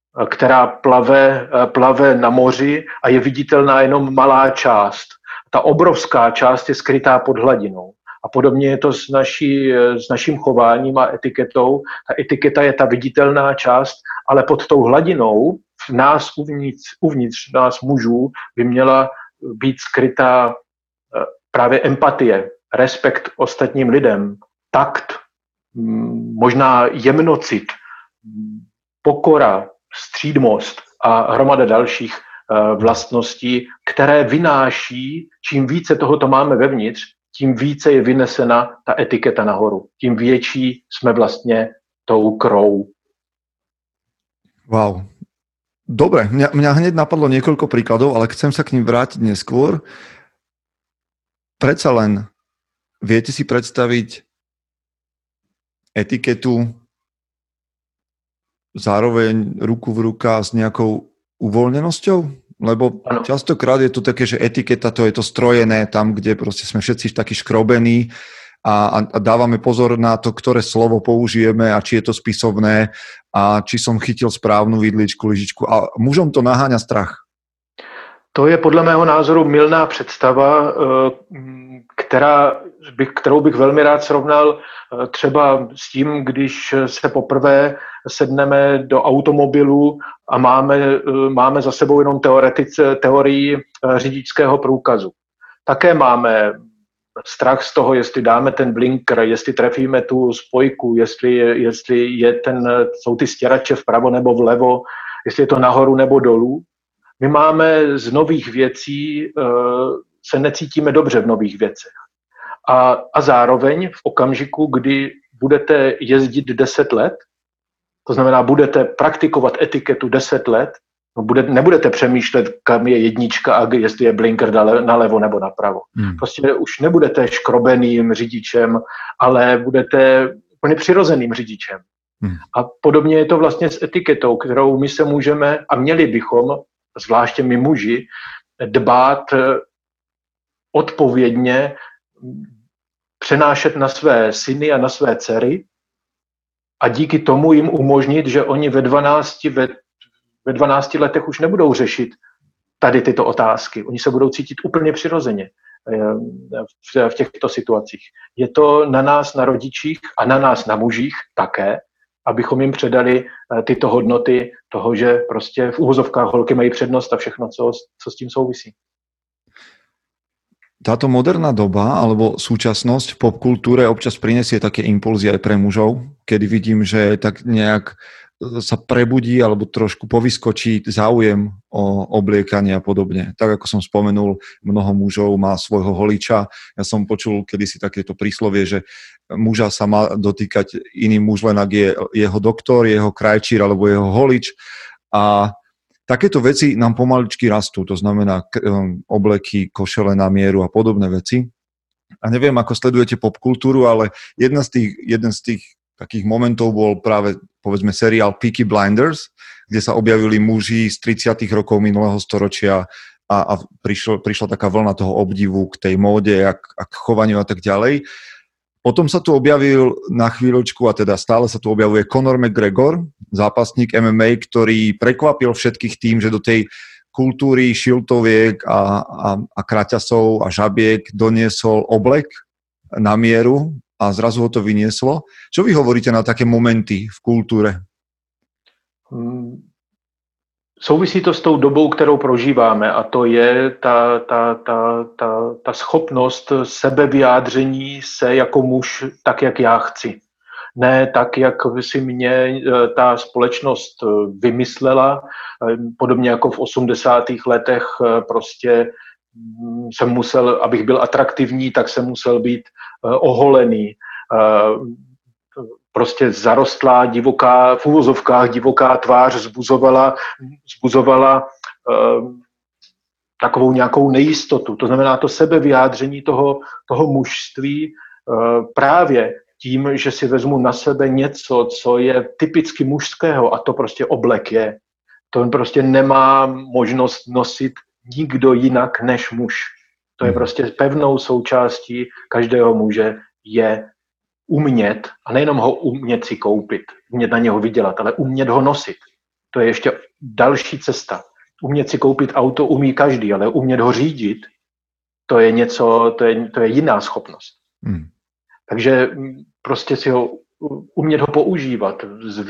která plave na moři a je viditelná jenom malá část. Ta obrovská část je skrytá pod hladinou. A podobně je to s naším chováním a etiketou. Ta etiketa je ta viditelná část, ale pod tou hladinou v nás uvnitř nás mužů by měla být skrytá právě empatie, respekt ostatním lidem, takt, možná jemnocit, pokora, střídmost a hromada dalších vlastností, které vynáší, čím více tohoto máme vevnitř, tím více je vynesena ta etiketa nahoru. Tím větší jsme vlastně tou krou. Wow. Dobre, mňa hneď napadlo niekoľko príkladov, ale chcem sa k ním vrátiť neskôr. Predsa len, viete si predstaviť etiketu zároveň ruku v ruka s nejakou uvoľnenosťou? Lebo častokrát je to také, že etiketa to je to strojené tam, kde proste sme všetci takí škrobení a dávame pozor na to, ktoré slovo použijeme a či je to spisovné a či som chytil správnu vidličku, lyžičku. A mužom to naháňa strach. To je podle mého názoru mylná představa, kterou bych velmi rád srovnal třeba s tím, když se poprvé sedneme do automobilu a máme za sebou jenom teorii řidičského průkazu. Také máme strach z toho, jestli dáme ten blinker, jestli trefíme tu spojku, jestli jsou ty stěrače vpravo nebo vlevo, jestli je to nahoru nebo dolů. My máme z nových věcí, se necítíme dobře v nových věcech. A zároveň v okamžiku, kdy budete jezdit 10 let, to znamená, budete praktikovat etiketu 10 let, nebudete přemýšlet, kam je jednička a jestli je blinker nalevo nebo napravo. Prostě už nebudete škrobeným řidičem, ale budete úplně přirozeným řidičem. A podobně je to vlastně s etiketou, kterou my se můžeme a měli bychom, zvláště my muži, dbát odpovědně, přenášet na své syny a na své dcery a díky tomu jim umožnit, že oni ve 12 letech už nebudou řešit tady tyto otázky. Oni se budou cítit úplně přirozeně v těchto situacích. Je to na nás, na rodičích a na nás, na mužích také, abychom jim předali tyto hodnoty toho, že prostě v úvozovkách holky mají přednost a všechno, co s tím souvisí. Táto moderná doba alebo súčasnosť v popkultúre občas prinesie také impulzy aj pre mužov, kedy vidím, že tak nejak sa prebudí alebo trošku povyskočí záujem o obliekanie a podobne. Tak ako som spomenul, mnoho mužov má svojho holiča. Ja som počul kedysi takéto príslovie, že muža sa má dotýkať iný muž, len ak je jeho doktor, jeho krajčír alebo jeho holič. A takéto veci nám pomaličky rastú, to znamená obleky, košele na mieru a podobné veci. A neviem, ako sledujete popkultúru, ale jeden z tých takých momentov bol práve, povedzme, seriál Peaky Blinders, kde sa objavili muži z 30. rokov minulého storočia a prišla taká vlna toho obdivu k tej móde a k chovaniu a tak ďalej. Potom sa tu objavil na chvíľočku, a teda stále sa tu objavuje Conor McGregor, zápasník MMA, ktorý prekvapil všetkých tým, že do tej kultúry šiltoviek a kraťasov a žabiek doniesol oblek na mieru a zrazu ho to vynieslo. Čo vy hovoríte na také momenty v kultúre? Souvisí to s tou dobou, kterou prožíváme, a to je ta schopnost sebevyjádření se jako muž tak, jak já chci. Ne tak, jak si mě ta společnost vymyslela, podobně jako v 80. letech prostě jsem musel, abych byl atraktivní, tak jsem musel být oholený. Prostě zarostlá, divoká, v úvozovkách divoká tvář zbuzovala takovou nějakou nejistotu. To znamená to sebevyjádření toho mužství právě tím, že si vezmu na sebe něco, co je typicky mužského, a to prostě oblek je. To prostě nemá možnost nosit nikdo jinak než muž. To je prostě pevnou součástí každého muže je umět, a nejenom ho umět si koupit, umět na něho vydělat, ale umět ho nosit. To je ještě další cesta. Umět si koupit auto umí každý, ale umět ho řídit, to je něco, to je jiná schopnost. Takže prostě si ho umět ho používat,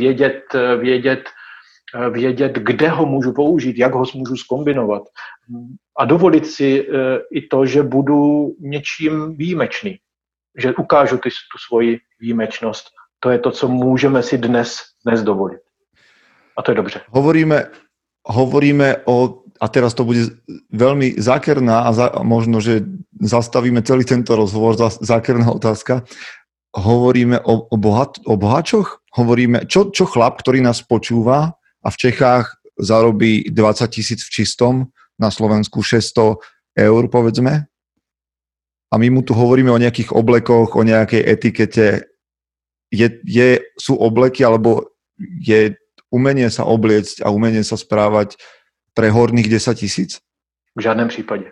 vědět, kde ho můžu použít, jak ho můžu zkombinovat a dovolit si i to, že budu něčím výjimečný, že ukážu tu svoji výjimečnost. To je to, co můžeme si dnes dovolit. A to je dobře. Hovoríme o, a teraz to bude veľmi zákerná a možno, že zastavíme celý tento rozhovor, zákerná otázka. Hovoríme o boháčoch? Hovoríme, čo chlap, ktorý nás počúva a v Čechách zarobí 20 000 v čistom, na Slovensku 600 eur, povedzme. A my mu tu hovoríme o nejakých oblekoch, o nejakej etikete. Sú obleky, alebo je umenie sa obliecť a umenie sa správať pre horných 10 000? V žádném případě.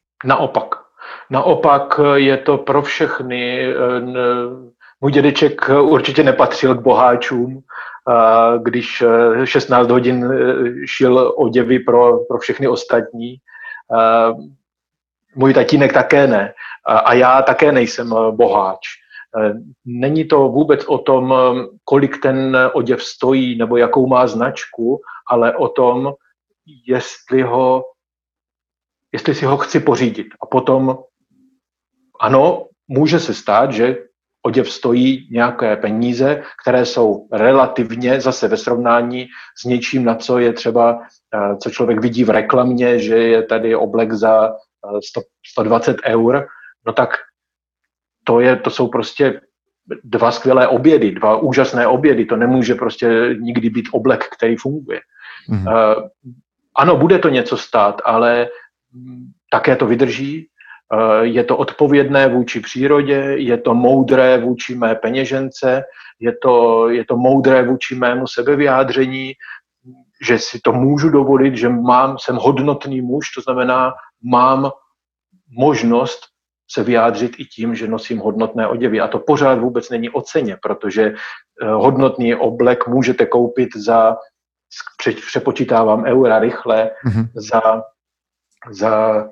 Naopak je to pro všechny. Můj dědeček určitě nepatřil k boháčům, když 16 hodin šil oděvy pro všechny ostatní. Můj tatínek také ne. A já také nejsem boháč. Není to vůbec o tom, kolik ten oděv stojí nebo jakou má značku, ale o tom, jestli si ho chci pořídit. A potom, ano, může se stát, že oděv stojí nějaké peníze, které jsou relativně zase ve srovnání s něčím, na co je třeba, co člověk vidí v reklamě, že je tady oblek za 120 eur, no tak to jsou prostě dva skvělé obědy, dva úžasné obědy, to nemůže prostě nikdy být oblek, který funguje. Ano, bude to něco stát, ale také to vydrží, je to odpovědné vůči přírodě, je to moudré vůči mé peněžence, je to moudré vůči mému sebevyjádření, že si to můžu dovolit, že jsem hodnotný muž, to znamená, mám možnost se vyjádřit i tím, že nosím hodnotné oděvy. A to pořád vůbec není o ceně, protože hodnotný oblek můžete koupit přepočítávám eura rychle, za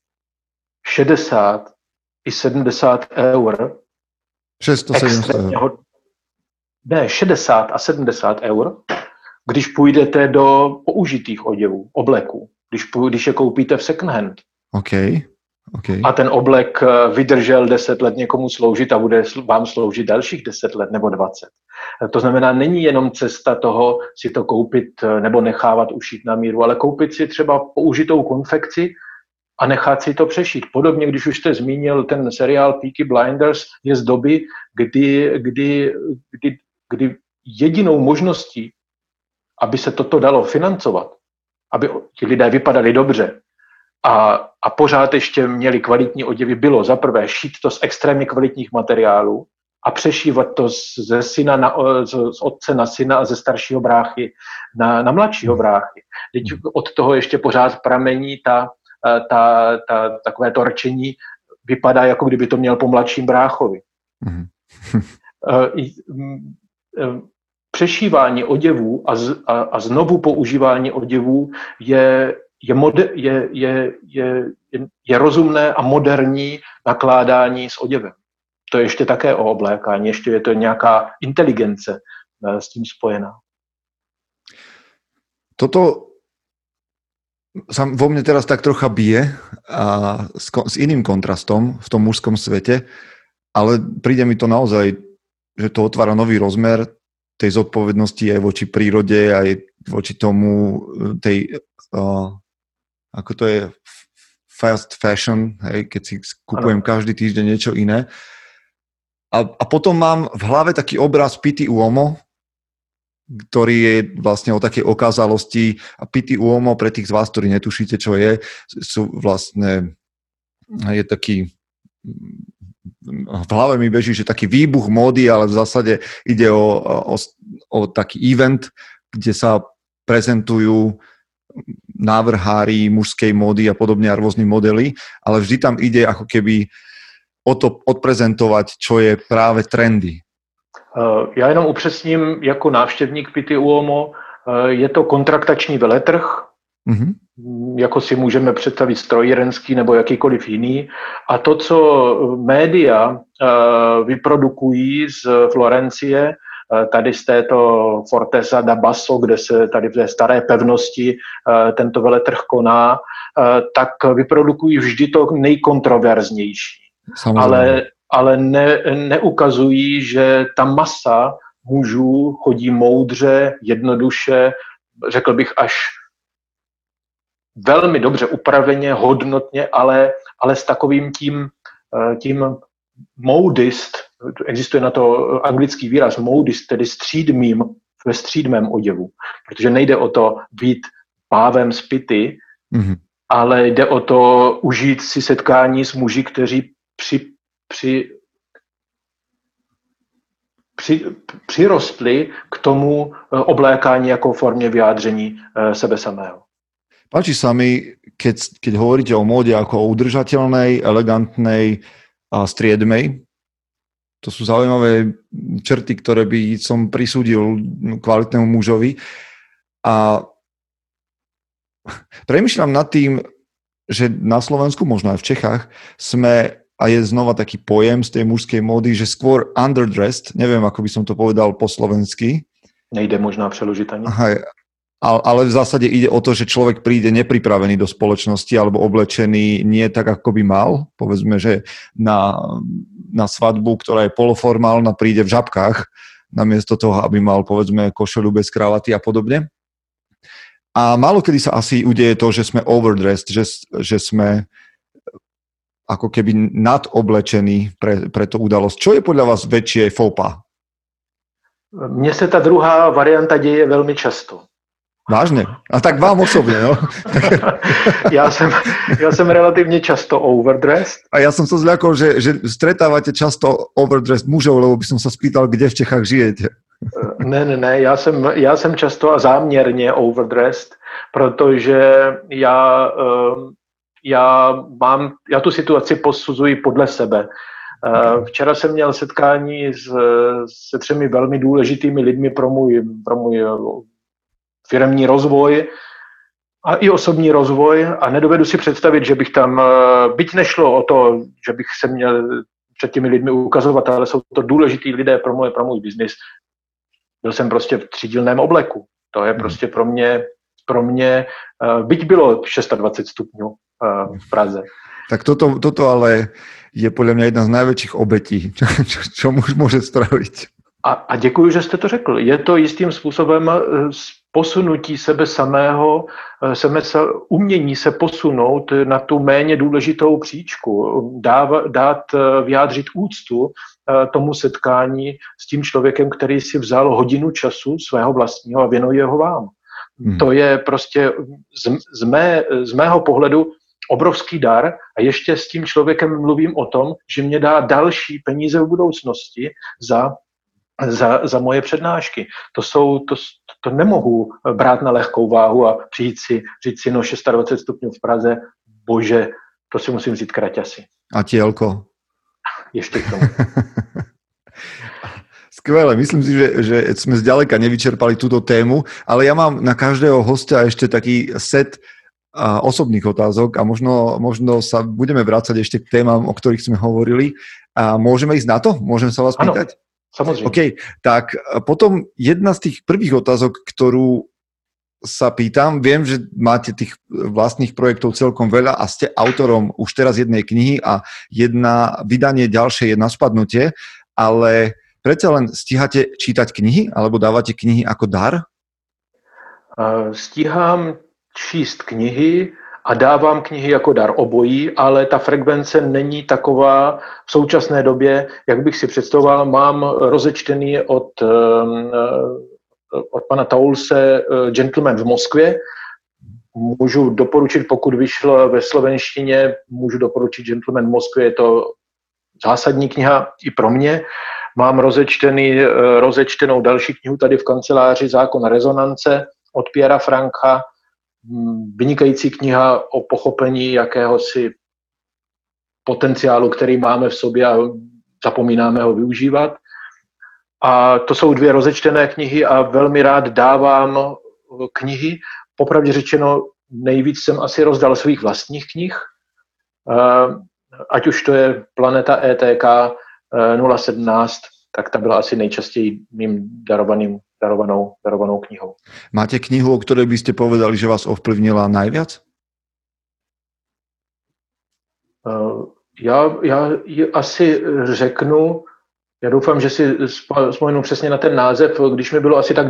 60 i 70 eur. 600-700 eur. Ne, 60 a 70 eur, když půjdete do použitých oděvů, obleků, když je koupíte v second hand. Okay. A ten oblek vydržel 10 let někomu sloužit a bude vám sloužit dalších 10 let nebo 20. To znamená, není jenom cesta toho si to koupit nebo nechávat ušít na míru, ale koupit si třeba použitou konfekci a nechat si to přešít. Podobně, když už jste zmínil ten seriál Peaky Blinders, je z doby, kdy jedinou možností, aby se toto dalo financovat, aby ti lidé vypadali dobře, a pořád ještě měli kvalitní oděvy, bylo za prvé šít to z extrémně kvalitních materiálů a přešívat to z otce na syna a ze staršího bráchy na mladšího bráchy. Teď od toho ještě pořád pramení takové to rčení, vypadá, jako kdyby to měl po mladším bráchovi. Přešívání oděvů a znovu používání oděvů je rozumné a moderní nakládání s oděvem. To je ještě také o oblékání, ještě je to nějaká inteligence s tím spojená. Toto sa vo mne teraz tak trocha bije a s iným kontrastom v tom mužskom svete, ale príde mi to naozaj, že to otvára nový rozmer tej zodpovednosti aj voči prírode, aj voči tomu ako to je fast fashion, hej, keď si kupujem každý týždeň niečo iné. A potom mám v hlave taký obraz Pitti Uomo, ktorý je vlastne o takej okázalosti. A Pitti Uomo, pre tých z vás, ktorí netušíte, čo je taký, v hlave mi beží, že taký výbuch módy, ale v zásade ide o taký event, kde sa prezentujú návrhári mužskej módy a podobne a rôzni modely, ale vždy tam ide ako keby o to odprezentovať, čo je práve trendy. Já jenom upřesním, jako návštěvník Pitti Uomo Je to kontraktační veletrh, jako si můžeme představit strojírenský nebo jakýkoliv jiný. A to, co média vyprodukují z Florencie, tady z této Forteza da Basso, kde se tady v té staré pevnosti tento veletrh koná, tak vyprodukují vždy to nejkontroverznější. Ale neukazují, že ta masa mužů chodí moudře, jednoduše, řekl bych až velmi dobře upraveně, hodnotně, ale s takovým tím modist, existuje na to anglický výraz modist, tedy střídmým, ve střídmém oděvu, protože nejde o to být pávem z Pity, ale jde o to užít si setkání s muži, kteří přirostli k tomu oblékání jako formě vyjádření sebe samého. Páči sa mi, keď hovoríte o móde ako o udržateľnej, elegantnej a striedmej. To sú zaujímavé črty, ktoré by som prisúdil kvalitnému mužovi. A premýšľam nad tým, že na Slovensku, možno aj v Čechách, sme, a je znova taký pojem z tej mužskej módy, že skôr underdressed, neviem, ako by som to povedal po slovensky. Nejde možná přeložit ani. Ale v zásade ide o to, že človek príde nepripravený do spoločnosti alebo oblečený nie tak, ako by mal. Povedzme, že na svadbu, ktorá je poloformálna, príde v žabkách, namiesto toho, aby mal, povedzme, košeľu bez kravaty a podobne. A málo kedy sa asi udeje to, že sme overdressed, že sme ako keby nadoblečení pre tú udalosť. Čo je podľa vás väčšie faux pas? Mně se ta druhá varianta děje velmi často. Vážne? A tak vám osobne, no? Ja som relatívne často overdressed. A ja som sa zľakol, že stretávate často overdressed mužov, lebo by som sa spýtal, kde v Čechách žijete. Ne, já jsem často a záměrně overdressed, protože já tu situaci posuzuji podle sebe. Včera jsem měl setkání se 3 velmi důležitými lidmi pro můj firemní rozvoj a i osobní rozvoj a nedovedu si představit, že bych tam, byť nešlo o to, že bych se měl před těmi lidmi ukazovat, ale jsou to důležití lidé pro můj biznis. Byl jsem prostě v třídílném obleku. To je prostě pro mě byť bylo 26 stupňů v Praze. Tak toto ale je podľa mňa jedna z najväčších obetí, čo muž môže spraviť. A děkuji, že jste to řekl. Je to jistým způsobem posunutí sebe samého, umění se posunout na tu méně důležitou příčku, vyjádřit úctu tomu setkání s tím člověkem, který si vzal hodinu času svého vlastního a věnuje ho vám. To je prostě z mého pohledu obrovský dar a ještě s tím člověkem mluvím o tom, že mě dá další peníze v budoucnosti za moje přednášky. To nemohu brát na lehkou váhu a říct si 26 stupňů v Praze, bože, to si musím vzít kraťasy. A tielko. Ještě k tomu. Skvelé, myslím si, že sme zďaleka nevyčerpali túto tému, ale ja mám na každého hostia ešte taký set osobných otázok a možno sa budeme vrácať ešte k témam, o ktorých sme hovorili. A môžeme ísť na to? Môžem sa vás pýtať? Áno, samozrejme. OK, tak potom jedna z tých prvých otázok, ktorú sa pýtam, viem, že máte tých vlastných projektov celkom veľa a ste autorom už teraz jednej knihy a vydanie ďalšie je na spadnutie, ale predsa len stíhate čítať knihy alebo dávate knihy ako dar? Stíhám číst knihy a dávám knihy jako dar obojí, ale ta frekvence není taková v současné době, jak bych si představoval. Mám rozečtený od pana Taulse Gentleman v Moskvě. Můžu doporučit, pokud vyšlo ve slovenštině, můžu doporučit Gentleman v Moskvě, je to zásadní kniha i pro mě. Mám rozečtenou další knihu tady v kanceláři Zákon rezonance od Piera Franka. Vynikající kniha o pochopení jakéhosi potenciálu, který máme v sobě a zapomínáme ho využívat. A to jsou 2 rozečtené knihy a velmi rád dávám knihy. Popravdě řečeno, nejvíc jsem asi rozdal svých vlastních knih, ať už to je Planeta ETK 017, tak ta byla asi nejčastěji mým darovanou knihou. Máte knihu, o ktorej by ste povedali, že vás ovplyvnila najviac? Já ji asi řeknu, já doufám, že si vzpomenu přesně na ten název, když mi bylo asi tak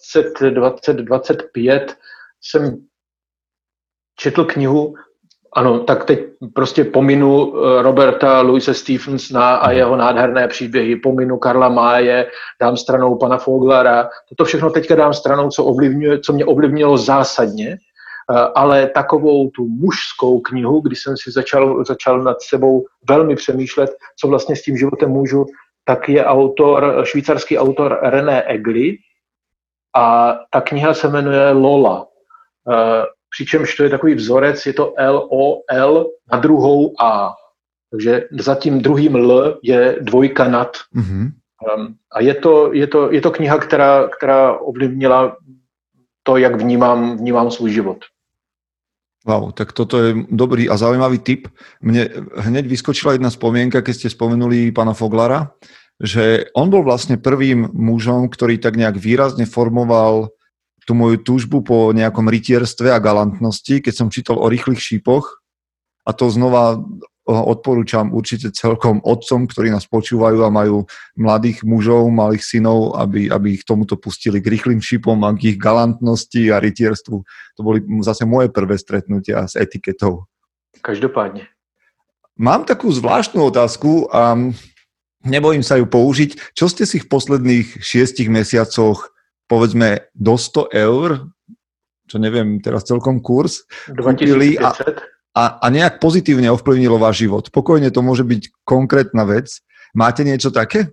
25, jsem četl knihu, ano, tak teď prostě pominu Roberta Louise Stevensona a jeho nádherné příběhy, pominu Karla Maye, dám stranou pana Foglara, toto všechno teďka dám stranou, co mě ovlivnilo zásadně, ale takovou tu mužskou knihu, kdy jsem si začal nad sebou velmi přemýšlet, co vlastně s tím životem můžu, tak je švýcarský autor René Egli a ta kniha se jmenuje Lola. Přičemž to je takový vzorec, je to LOL na druhou A. Takže za tím druhým L je dvojka nad. Mm-hmm. A je to kniha, která ovlivnila to, jak vnímám svůj život. Wow, tak toto je dobrý a zaujímavý tip. Mne hneď vyskočila jedna spomienka, keď ste spomenuli pána Foglara, že on bol vlastne prvým mužom, ktorý tak nejak výrazne formoval tú moju túžbu po nejakom rytierstve a galantnosti, keď som čítal o rýchlych šípoch. A to znova odporúčam určite celkom otcom, ktorí nás počúvajú a majú mladých mužov, malých synov, aby ich tomuto pustili k rýchlym šípom a k ich galantnosti a rytierstvu. To boli zase moje prvé stretnutia s etiketou. Každopádne. Mám takú zvláštnu otázku a nebojím sa ju použiť. Čo ste si v posledných 6 mesiacoch, povedzme, do 100 eur, čo neviem teraz celkom kurz, kúpili a nejak pozitívne ovplyvnilo váš život? Pokojne to môže byť konkrétna vec. Máte niečo také?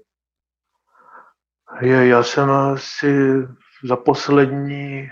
Já jsem asi za poslední...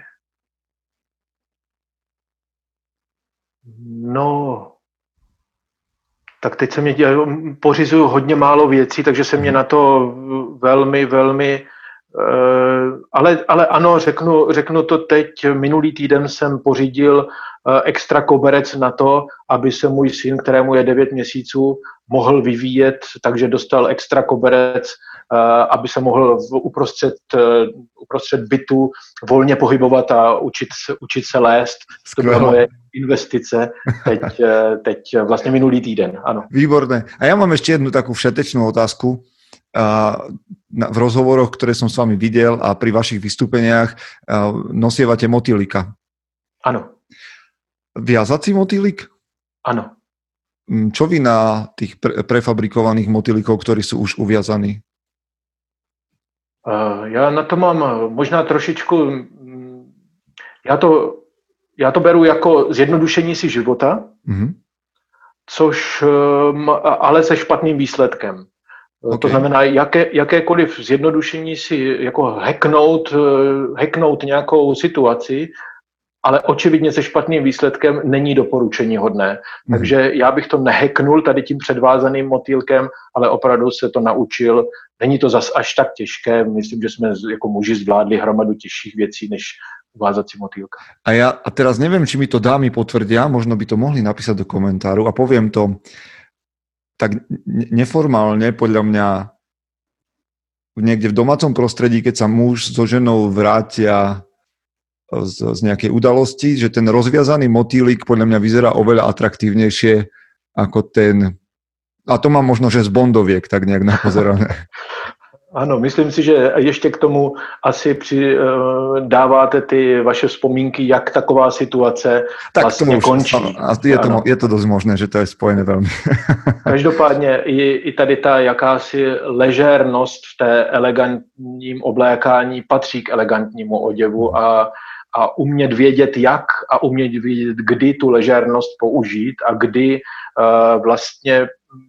Tak teď pořizuju hodně málo věcí, takže se mě na to velmi... Ale ano, řeknu to teď. Minulý týden jsem pořídil extra koberec na to, aby se můj syn, kterému je 9 měsíců, mohl vyvíjet, takže dostal extra koberec, aby se mohl uprostřed bytu volně pohybovat a učit se lézt. To byla moje investice teď vlastně minulý týden. Ano. Výborné. A ja mám ešte jednu takú všetečnú otázku. V rozhovoroch, ktoré som s vami videl a pri vašich vystúpeniach nosievate motýlika. Áno. Viazací motýlik? Áno. Čo vy na tých prefabrikovaných motýlikov, ktorí sú už uviazaní? Já na to mám možná trošičku... Já to beru jako zjednodušení si života, což ale se špatným výsledkem. Okay. To znamená, jakékoliv zjednodušení si jako hacknout nějakou situaci, ale očividně se špatným výsledkem není doporučení hodné. Takže já bych to nehacknul tady tím předvázaným motýlkem, ale opravdu se to naučil. Není to zas až tak těžké. Myslím, že jsme jako muži zvládli hromadu těžších věcí než vázací motýlka. A teraz neviem, či mi to dámy potvrdia, možno by to mohli napísať do komentáru a poviem to tak neformálne, podľa mňa niekde v domácom prostredí, keď sa muž so ženou vrátia z nejakej udalosti, že ten rozviazaný motýlik podľa mňa vyzerá oveľa atraktívnejšie ako ten, a to mám možno, že z Bondoviek tak nejak napozerané. Ano, myslím si, že ještě k tomu asi dáváte ty vaše vzpomínky, jak taková situace tak vlastně končí. Je to dosť možné, že to je spojené veľmi. Každopádně i tady ta jakási ležérnost v té elegantním oblékání patří k elegantnímu oděvu a umět vědět jak a umět vědět, kdy tu ležérnost použít a kdy vlastně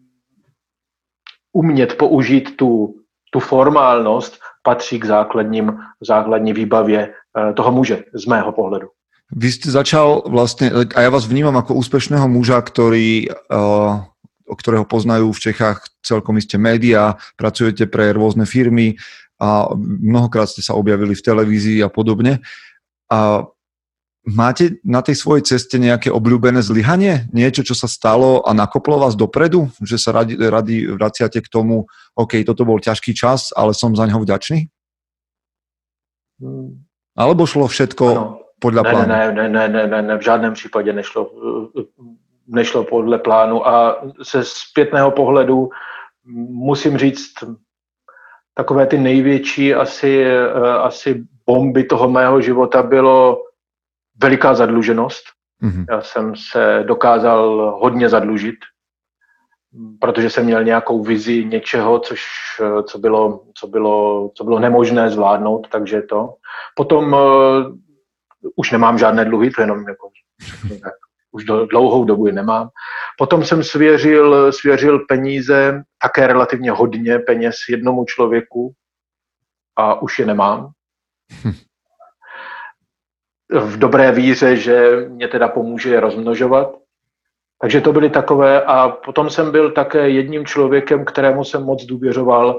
umět použít tu formálnost patří k základní výbavě toho muže, z mého pohledu. Vy ste začal vlastne, a ja vás vnímam ako úspešného muža, ktorého poznajú v Čechách celkom iste médiá, pracujete pre rôzne firmy a mnohokrát ste sa objavili v televízii a podobne. A máte na tej svojej ceste nejaké obľúbené zlyhanie? Niečo, čo sa stalo a nakoplo vás dopredu? Že sa radi vraciate k tomu, OK, toto bol ťažký čas, ale som za ňo vďačný? Alebo šlo všetko podľa plánu? Ne, v žádném případě nešlo podle plánu a ze zpětného pohledu musím říct, takové ty největší asi bomby toho mého života bylo veliká zadluženost. Mm-hmm. Já jsem se dokázal hodně zadlužit, protože jsem měl nějakou vizi něčeho, co bylo nemožné zvládnout, takže to. Potom už nemám žádné dluhy, to jenom jako, tak, už dlouhou dobu je nemám. Potom jsem svěřil peníze, také relativně hodně peněz jednomu člověku a už je nemám. V dobré víře, že mě teda pomůže je rozmnožovat. Takže to byly takové a potom jsem byl také jedním člověkem, kterému jsem moc důvěřoval,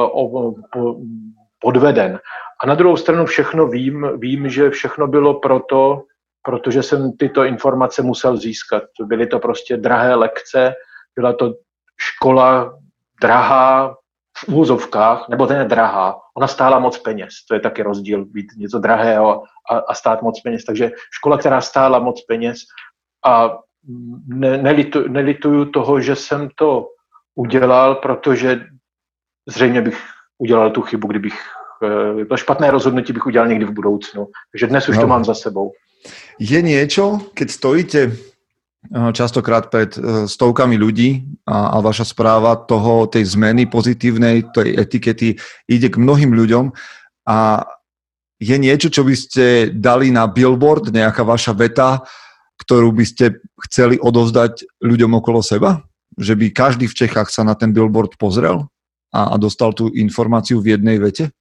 podveden. A na druhou stranu všechno vím, že všechno bylo protože jsem tyto informace musel získat. Byly to prostě drahé lekce, byla to škola drahá v úvozovkách, nebo to ne drahá, ona stála moc peněz. To je taky rozdíl, být něco drahého a stát moc peněz. Takže škola, která stála moc peněz a nelituju toho, že jsem to udělal, protože zřejmě bych udělal tu chybu, kdybych to špatné rozhodnutí bych udělal někdy v budoucnu. Takže dnes už to mám za sebou. Je niečo, keď stojíte častokrát pred stovkami ľudí a vaša správa tej zmeny pozitívnej, tej etikety ide k mnohým ľuďom a je niečo, čo by ste dali na billboard, nejaká vaša veta, ktorú by ste chceli odovzdať ľuďom okolo seba? Že by každý v Čechách sa na ten billboard pozrel a dostal tú informáciu v jednej vete?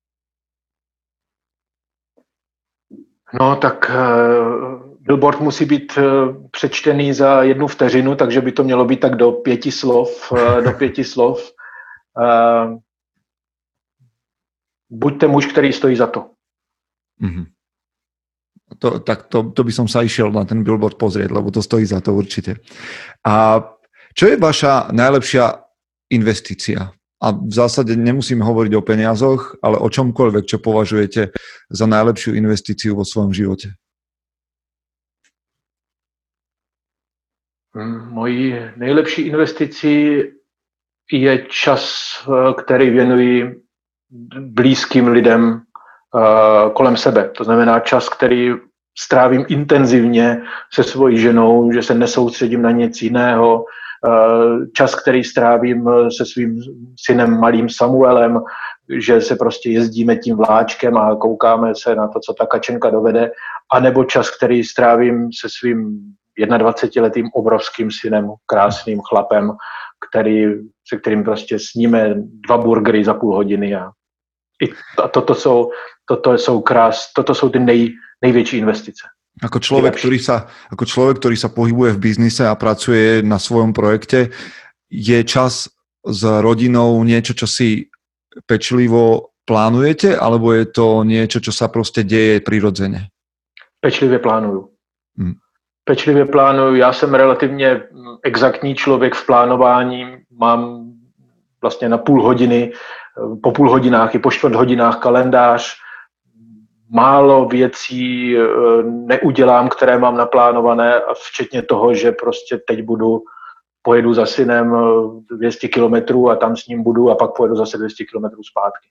No tak billboard musí být přečtený za 1 vteřinu, takže by to mělo být tak do 5 slov. Buďte muž, který stojí za to. Mm-hmm. To by som sa išiel na ten billboard pozrieť, lebo to stojí za to určite. A čo je vaša najlepšia investícia? A v zásade nemusíme hovoriť o peniazoch, ale o čomkoľvek, čo považujete za najlepšiu investíciu vo svojom živote. Mojí nejlepší investicí je čas, který věnuji blízkým lidem kolem sebe. To znamená čas, který strávím intenzivně se svojí ženou, že se nesoustředím na nic jiného. Čas, který strávím se svým synem malým Samuelem, že se prostě jezdíme tím vláčkem a koukáme se na to, co ta kačenka dovede, anebo čas, který strávím se svým 21letým obrovským synem, krásným chlapem, se kterým prostě sníme 2 burgery za půl hodiny a toto jsou ty největší investice. Ako človek, ktorý sa pohybuje v biznise a pracuje na svojom projekte, je čas s rodinou niečo, čo si pečlivo plánujete, alebo je to niečo, čo sa proste deje prirodzene? Pečlivě plánuju. Pečlivě plánuju. Já jsem relativně exaktní člověk v plánování. Mám vlastně na půl hodiny, po půl hodinách i po 4 hodinách kalendář. Málo věcí neudělám, které mám naplánované, včetně toho, že prostě teď pojedu za synem 200 kilometrů a tam s ním budu a pak pojedu zase 200 kilometrů zpátky.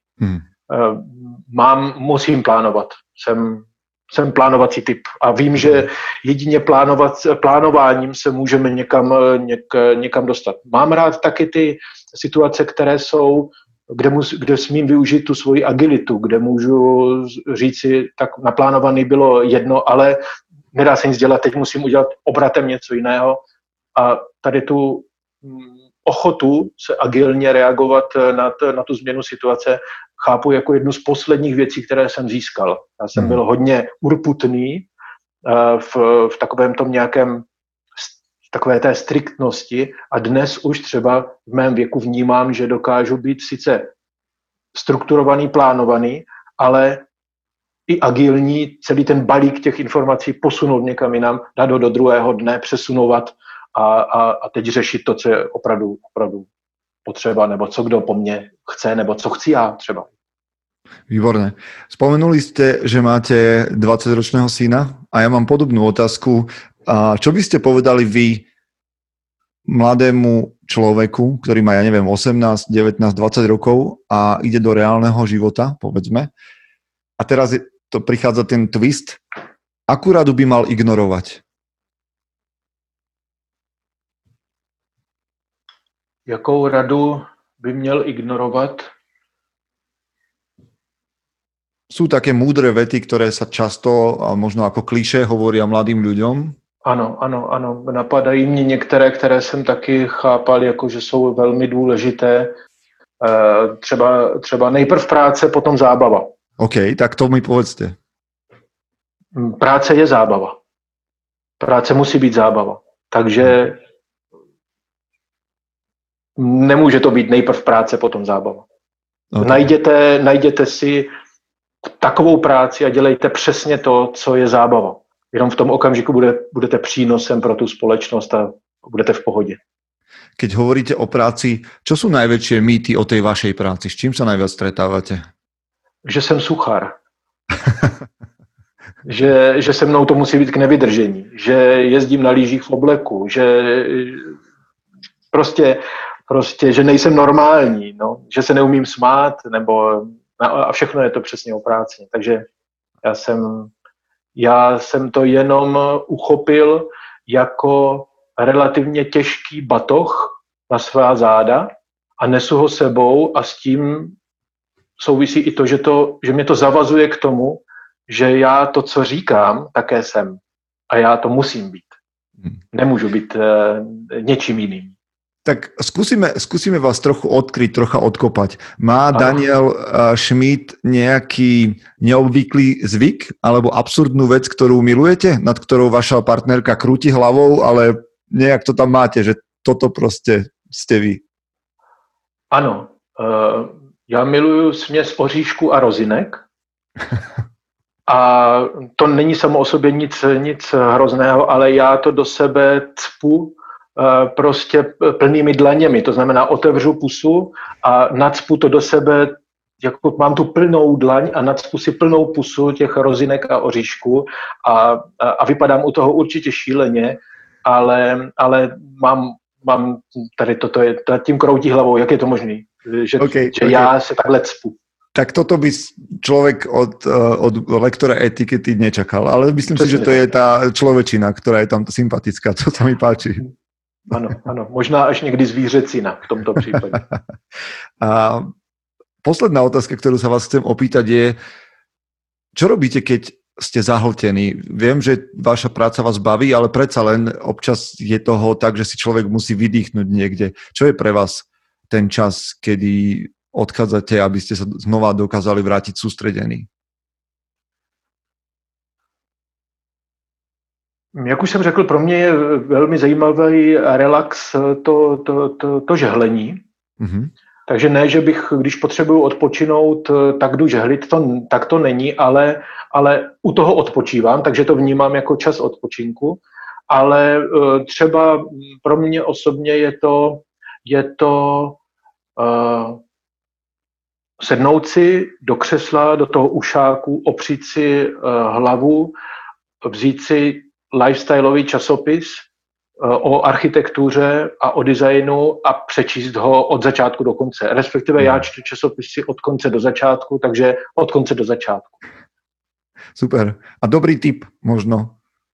Musím plánovat. Jsem plánovací typ a vím, že jedině plánováním se můžeme někam dostat. Mám rád taky ty situace, které jsou, kde smím využít tu svoji agilitu, kde můžu říci, tak naplánovaný bylo jedno, ale nedá se nic dělat, teď musím udělat obratem něco jiného. A tady tu ochotu se agilně reagovat na tu změnu situace chápu jako jednu z posledních věcí, které jsem získal. Já jsem byl hodně urputný v takovém tom nějakém takové té striktnosti a dnes už třeba v mém věku vnímám, že dokážu být sice strukturovaný, plánovaný, ale i agilní celý ten balík těch informací posunout někam jinam, dát ho do druhého dne, přesunovat a teď řešit to, co je opravdu potřeba, nebo co kdo po mně chce, nebo co chci já třeba. Výborné. Spomenuli ste, že máte 20-ročného syna a ja mám podobnú otázku. A čo by ste povedali vy mladému človeku, ktorý má, 18, 19, 20 rokov a ide do reálneho života, povedzme. A teraz to prichádza ten twist. Akú radu by mal ignorovať? Jakou radu by měl ignorovat? Sú také múdre vety, ktoré sa často a možno ako klišé hovoria mladým ľuďom? Ano. Napadají mě některé, které jsem taky chápal, jako že jsou velmi důležité. Třeba nejprv práce, potom zábava. OK, tak to mi povedzte. Práce je zábava. Práce musí být zábava. Takže nemůže to být nejprv práce, potom zábava. Okay. Najděte si takovou práci a dělejte přesně to, co je zábava. Jenom v tom okamžiku budete přínosem pro tu společnost a budete v pohodě. Keď hovoríte o práci, čo sú najväčšie mýty o tej vašej práci? S čím sa najviac stretávate? Že jsem suchár. že se mnou to musí být k nevydržení. Že jezdím na lyžích v obleku. Že prostě, že nejsem normální. No? Že se neumím smát. A všechno je to přesně o práci. Takže já jsem to jenom uchopil jako relativně těžký batoh na svá záda a nesu ho sebou a s tím souvisí i to, že mě to zavazuje k tomu, že já to, co říkám, také jsem. A já to musím být. Nemůžu být něčím jiným. Tak skúsime vás trochu odkryť, trocha odkopať. Má Daniel Schmidt nejaký neobvyklý zvyk alebo absurdnú vec, ktorú milujete, nad ktorou vaša partnerka krúti hlavou, ale nejak to tam máte, že toto proste ste vy? Ano. Já miluju směs oříšku a rozinek. A to není samo o sobě nic hrozného, ale já to do sebe cpu prostě plnými dlaněmi. To znamená, otevřu pusu a nacpu to do sebe, jako mám tu plnou dlaň a nacpu si plnou pusu těch rozinek a oříšku a vypadám u toho určitě šíleně, ale mám tady toto je, tím kroutí hlavou, jak je to možné, že já se takhle cpu. Tak toto by človek od lektora etikety nečakal, ale myslím si, že to je tá človečina, ktorá je tam sympatická, to sa mi páči. Ano, možná až někdy zvířecina v tomto případě. A posledná otázka, ktorú sa vás chcem opýtať je, čo robíte, keď ste zahltení? Viem, že vaša práca vás baví, ale predsa len občas je toho tak, že si človek musí vydýchnuť niekde. Čo je pre vás ten čas, kedy odchádzate, aby ste sa znova dokázali vrátiť sústredení? Jak už jsem řekl, pro mě je velmi zajímavý relax to žehlení. Mm-hmm. Takže ne, že bych, když potřebuju odpočinout, tak jdu žehlit, tak to není, ale u toho odpočívám, takže to vnímám jako čas odpočinku. Ale třeba pro mě osobně je to sednout si do křesla, do toho ušáku, opřít si hlavu, vzít si lifestyleový časopis o architektuře a o designu a přečíst ho od začátku do konce. Respektive já čtu časopisy od konce do začátku, takže od konce do začátku. Super. A dobrý tip možno.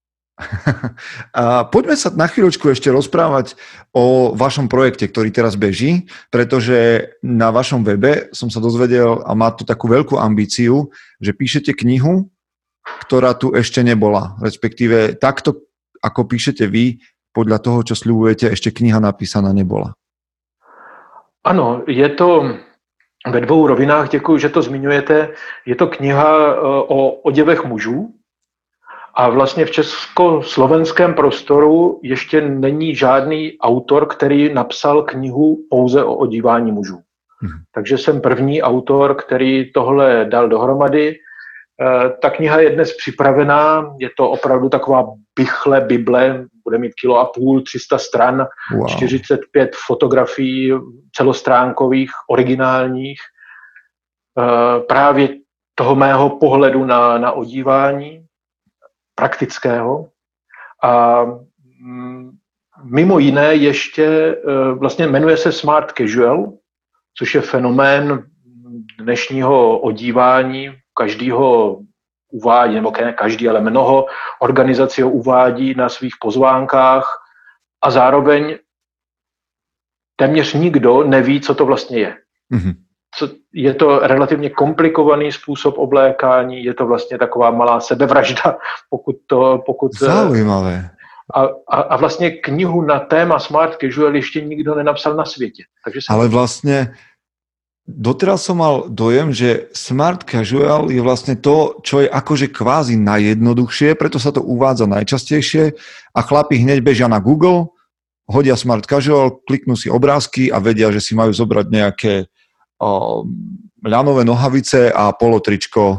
A poďme sa na chvíľočku ešte rozprávať o vašom projekte, ktorý teraz beží, pretože na vašom webe som sa dozvedel a má to takú veľkú ambíciu, že píšete knihu, ktorá tu ešte nebola. Respektíve takto, ako píšete vy, podľa toho, čo sľubujete, ešte kniha napísaná nebola. Ano, je to ve dvou rovinách, děkuji, že to zmiňujete. Je to kniha o oděvech mužů a vlastně v československém prostoru ještě není žádný autor, který napsal knihu pouze o odívání mužů. Takže jsem první autor, který tohle dal dohromady. Ta kniha je dnes připravená, je to opravdu taková bychle Bible, bude mít 1,5 kg, 300 stran, Wow. 45 fotografií celostránkových, originálních, právě toho mého pohledu na odívání, praktického. A mimo jiné ještě vlastně jmenuje se Smart Casual, což je fenomén dnešního odívání. Každý ho uvádí, nebo ne každý, ale mnoho organizací ho uvádí na svých pozvánkách a zároveň téměř nikdo neví, co to vlastně je. Mm-hmm. Je to relativně komplikovaný způsob oblékání, je to vlastně taková malá sebevražda, pokud Zaujímavé. A vlastně knihu na téma Smart Casual ještě nikdo nenapsal na světě. Takže ale vlastne doteraz som mal dojem, že Smart Casual je vlastne to, čo je akože kvázi najjednoduchšie, preto sa to uvádza najčastejšie a chlapi hneď bežia na Google, hodia Smart Casual, kliknú si obrázky a vedia, že si majú zobrať nejaké ľanové nohavice a polotričko.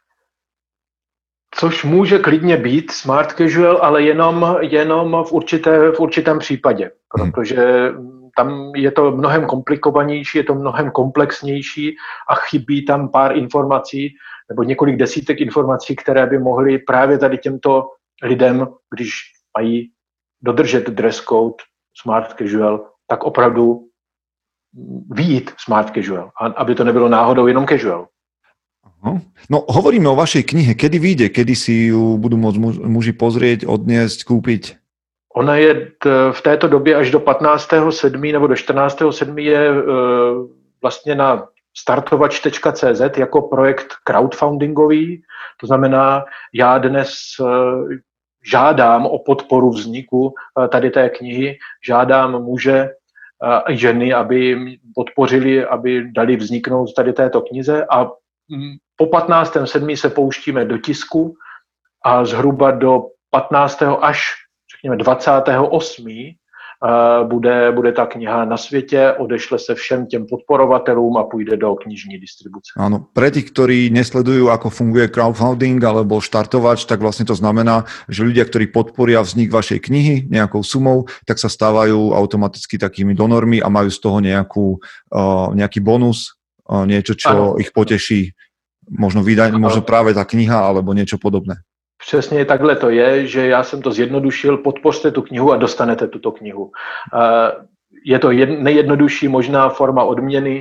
Což může klidně být Smart Casual, ale jenom v určitém případě, protože tam je to mnohem komplikovanější, je to mnohem komplexnější a chybí tam pár informací nebo několik desítek informací, které by mohly právě tady těmto lidem, když mají dodržet dress code Smart Casual, tak opravdu vyjít Smart Casual, aby to nebylo náhodou jenom casual. No, hovoríme o vašej knihe. Kedy vyjde? Kedy si ju budú môcť muži pozrieť, odniesť, kúpiť? Ona je v této době až do 15.7. nebo do 14.7. je vlastně na startovač.cz jako projekt crowdfundingový. To znamená, já dnes žádám o podporu vzniku tady té knihy, žádám muže a ženy, aby podpořili, aby dali vzniknout tady této knize a po 15.7. se pouštíme do tisku a zhruba do 15. až řekněme 28. Bude ta kniha na světě, odešle se všem těm podporovatelům a půjde do knižní distribuce. Áno, pre tých, ktorí nesledujú, ako funguje crowdfunding alebo štartovač, tak vlastne to znamená, že ľudia, ktorí podporia vznik vašej knihy nejakou sumou, tak sa stávajú automaticky takými donormi a majú z toho nejaký bonus, niečo, čo ich poteší. Možno práve tá kniha alebo niečo podobné. Přesně takhle to je, že já jsem to zjednodušil, podpořte tu knihu a dostanete tuto knihu. Je to nejjednodušší možná forma odměny,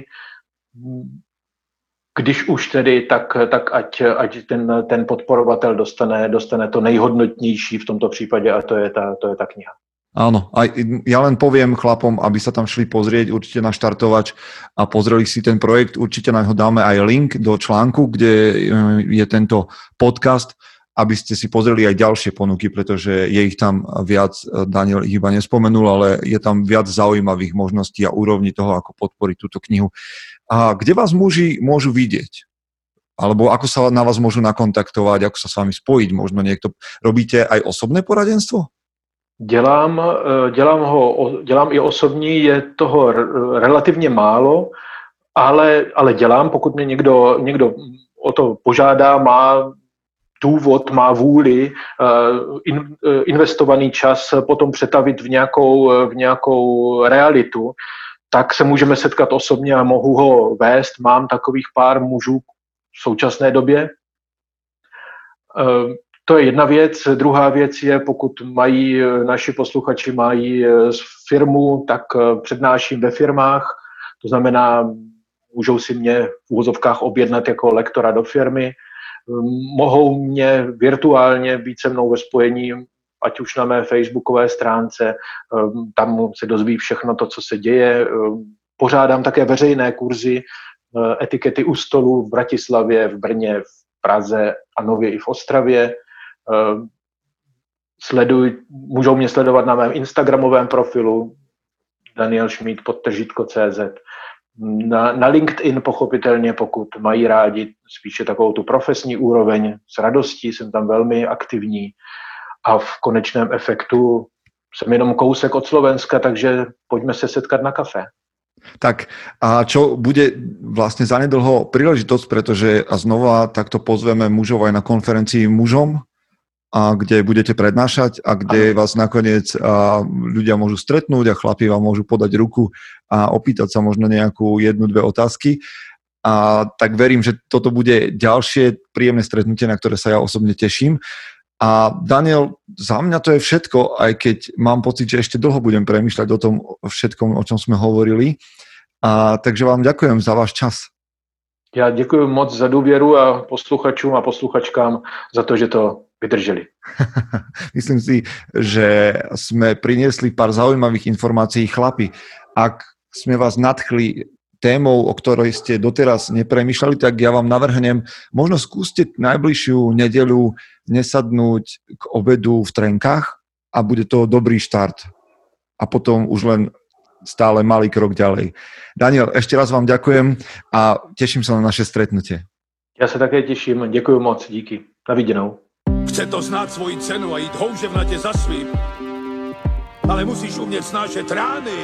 když už tedy, tak ať ten podporovatel dostane to nejhodnotnější v tomto případě a to je ta kniha. Áno, a ja len poviem chlapom, aby sa tam šli pozrieť určite na štartovač a pozreli si ten projekt, určite na ho dáme aj link do článku, kde je tento podcast, aby ste si pozreli aj ďalšie ponuky, pretože je ich tam viac, Daniel ich iba nespomenul, ale je tam viac zaujímavých možností a úrovní toho, ako podporiť túto knihu. A kde vás muži môžu vidieť? Alebo ako sa na vás môžu nakontaktovať, ako sa s vami spojiť? Možno niekto... Robíte aj osobné poradenstvo? Dělám i osobní, je toho relativně málo, ale dělám, pokud mě někdo o to požádá, má důvod, má vůli, investovaný čas potom přetavit v nějakou realitu, tak se můžeme setkat osobně a mohu ho vést. Mám takových pár mužů v současné době. To je jedna věc. Druhá věc je, pokud naši posluchači mají firmu, tak přednáším ve firmách. To znamená, můžou si mě v úvozovkách objednat jako lektora do firmy. Mohou mě virtuálně být se mnou ve spojení, ať už na mé facebookové stránce, tam se dozví všechno to, co se děje. Pořádám také veřejné kurzy etikety u stolu v Bratislavě, v Brně, v Praze a nově i v Ostravě. Můžou mě sledovat na mém instagramovém profilu danielschmid_cz. Na LinkedIn pochopitelně, pokud mají rádi spíše takovou tu profesní úroveň, s radostí jsem tam velmi aktivní a v konečném efektu jsem jenom kousek od Slovenska, takže pojďme se setkat na kafe. Tak a čo bude vlastne zanedlho príležitosť, pretože a znova takto pozveme mužov aj na konferencii mužom, a kde budete prednášať a kde vás nakoniec ľudia môžu stretnúť a chlapi vám môžu podať ruku a opýtať sa možno nejakú 1-2 otázky. A tak verím, že toto bude ďalšie príjemné stretnutie, na ktoré sa ja osobne teším. A Daniel, za mňa to je všetko, aj keď mám pocit, že ešte dlho budem premýšľať o tom všetkom, o čom sme hovorili. A takže vám ďakujem za váš čas. Já děkuji moc za důvěru a posluchačům a posluchačkám za to, že to vydrželi. Myslím si, že sme priniesli pár zaujímavých informácií. Chlapi, ak sme vás nadchli témou, o ktorej ste doteraz nepremýšľali, tak ja vám navrhnem, možno skúste najbližšiu nedeľu nesadnúť k obedu v Trenkách a bude to dobrý štart. A potom už len stále malý krok ďalej. Daniel, ešte raz vám ďakujem a teším sa na naše stretnutie. Já se také těším, děkuji moc, díky. Na viděnou. Chce to znát svoji cenu a jít houževnatě za svým. Ale musíš umět snášet rány.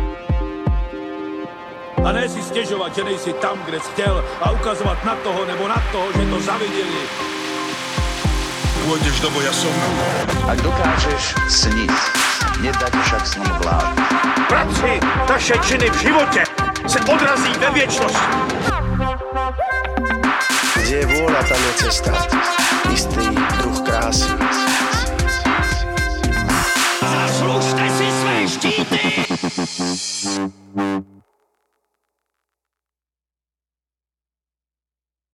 A ne si stěžovat, že nejsi tam, kde jsi chtěl a ukazovat na toho nebo na toho, že to zaviděli. Pôjdeš do boja som. Ak dokážeš sniť, nedať však snom vlád. Práci, taše činy v životě se odrazí ve věčnosti. Kde je vôľa, tam je cesta. Istý druh krásy.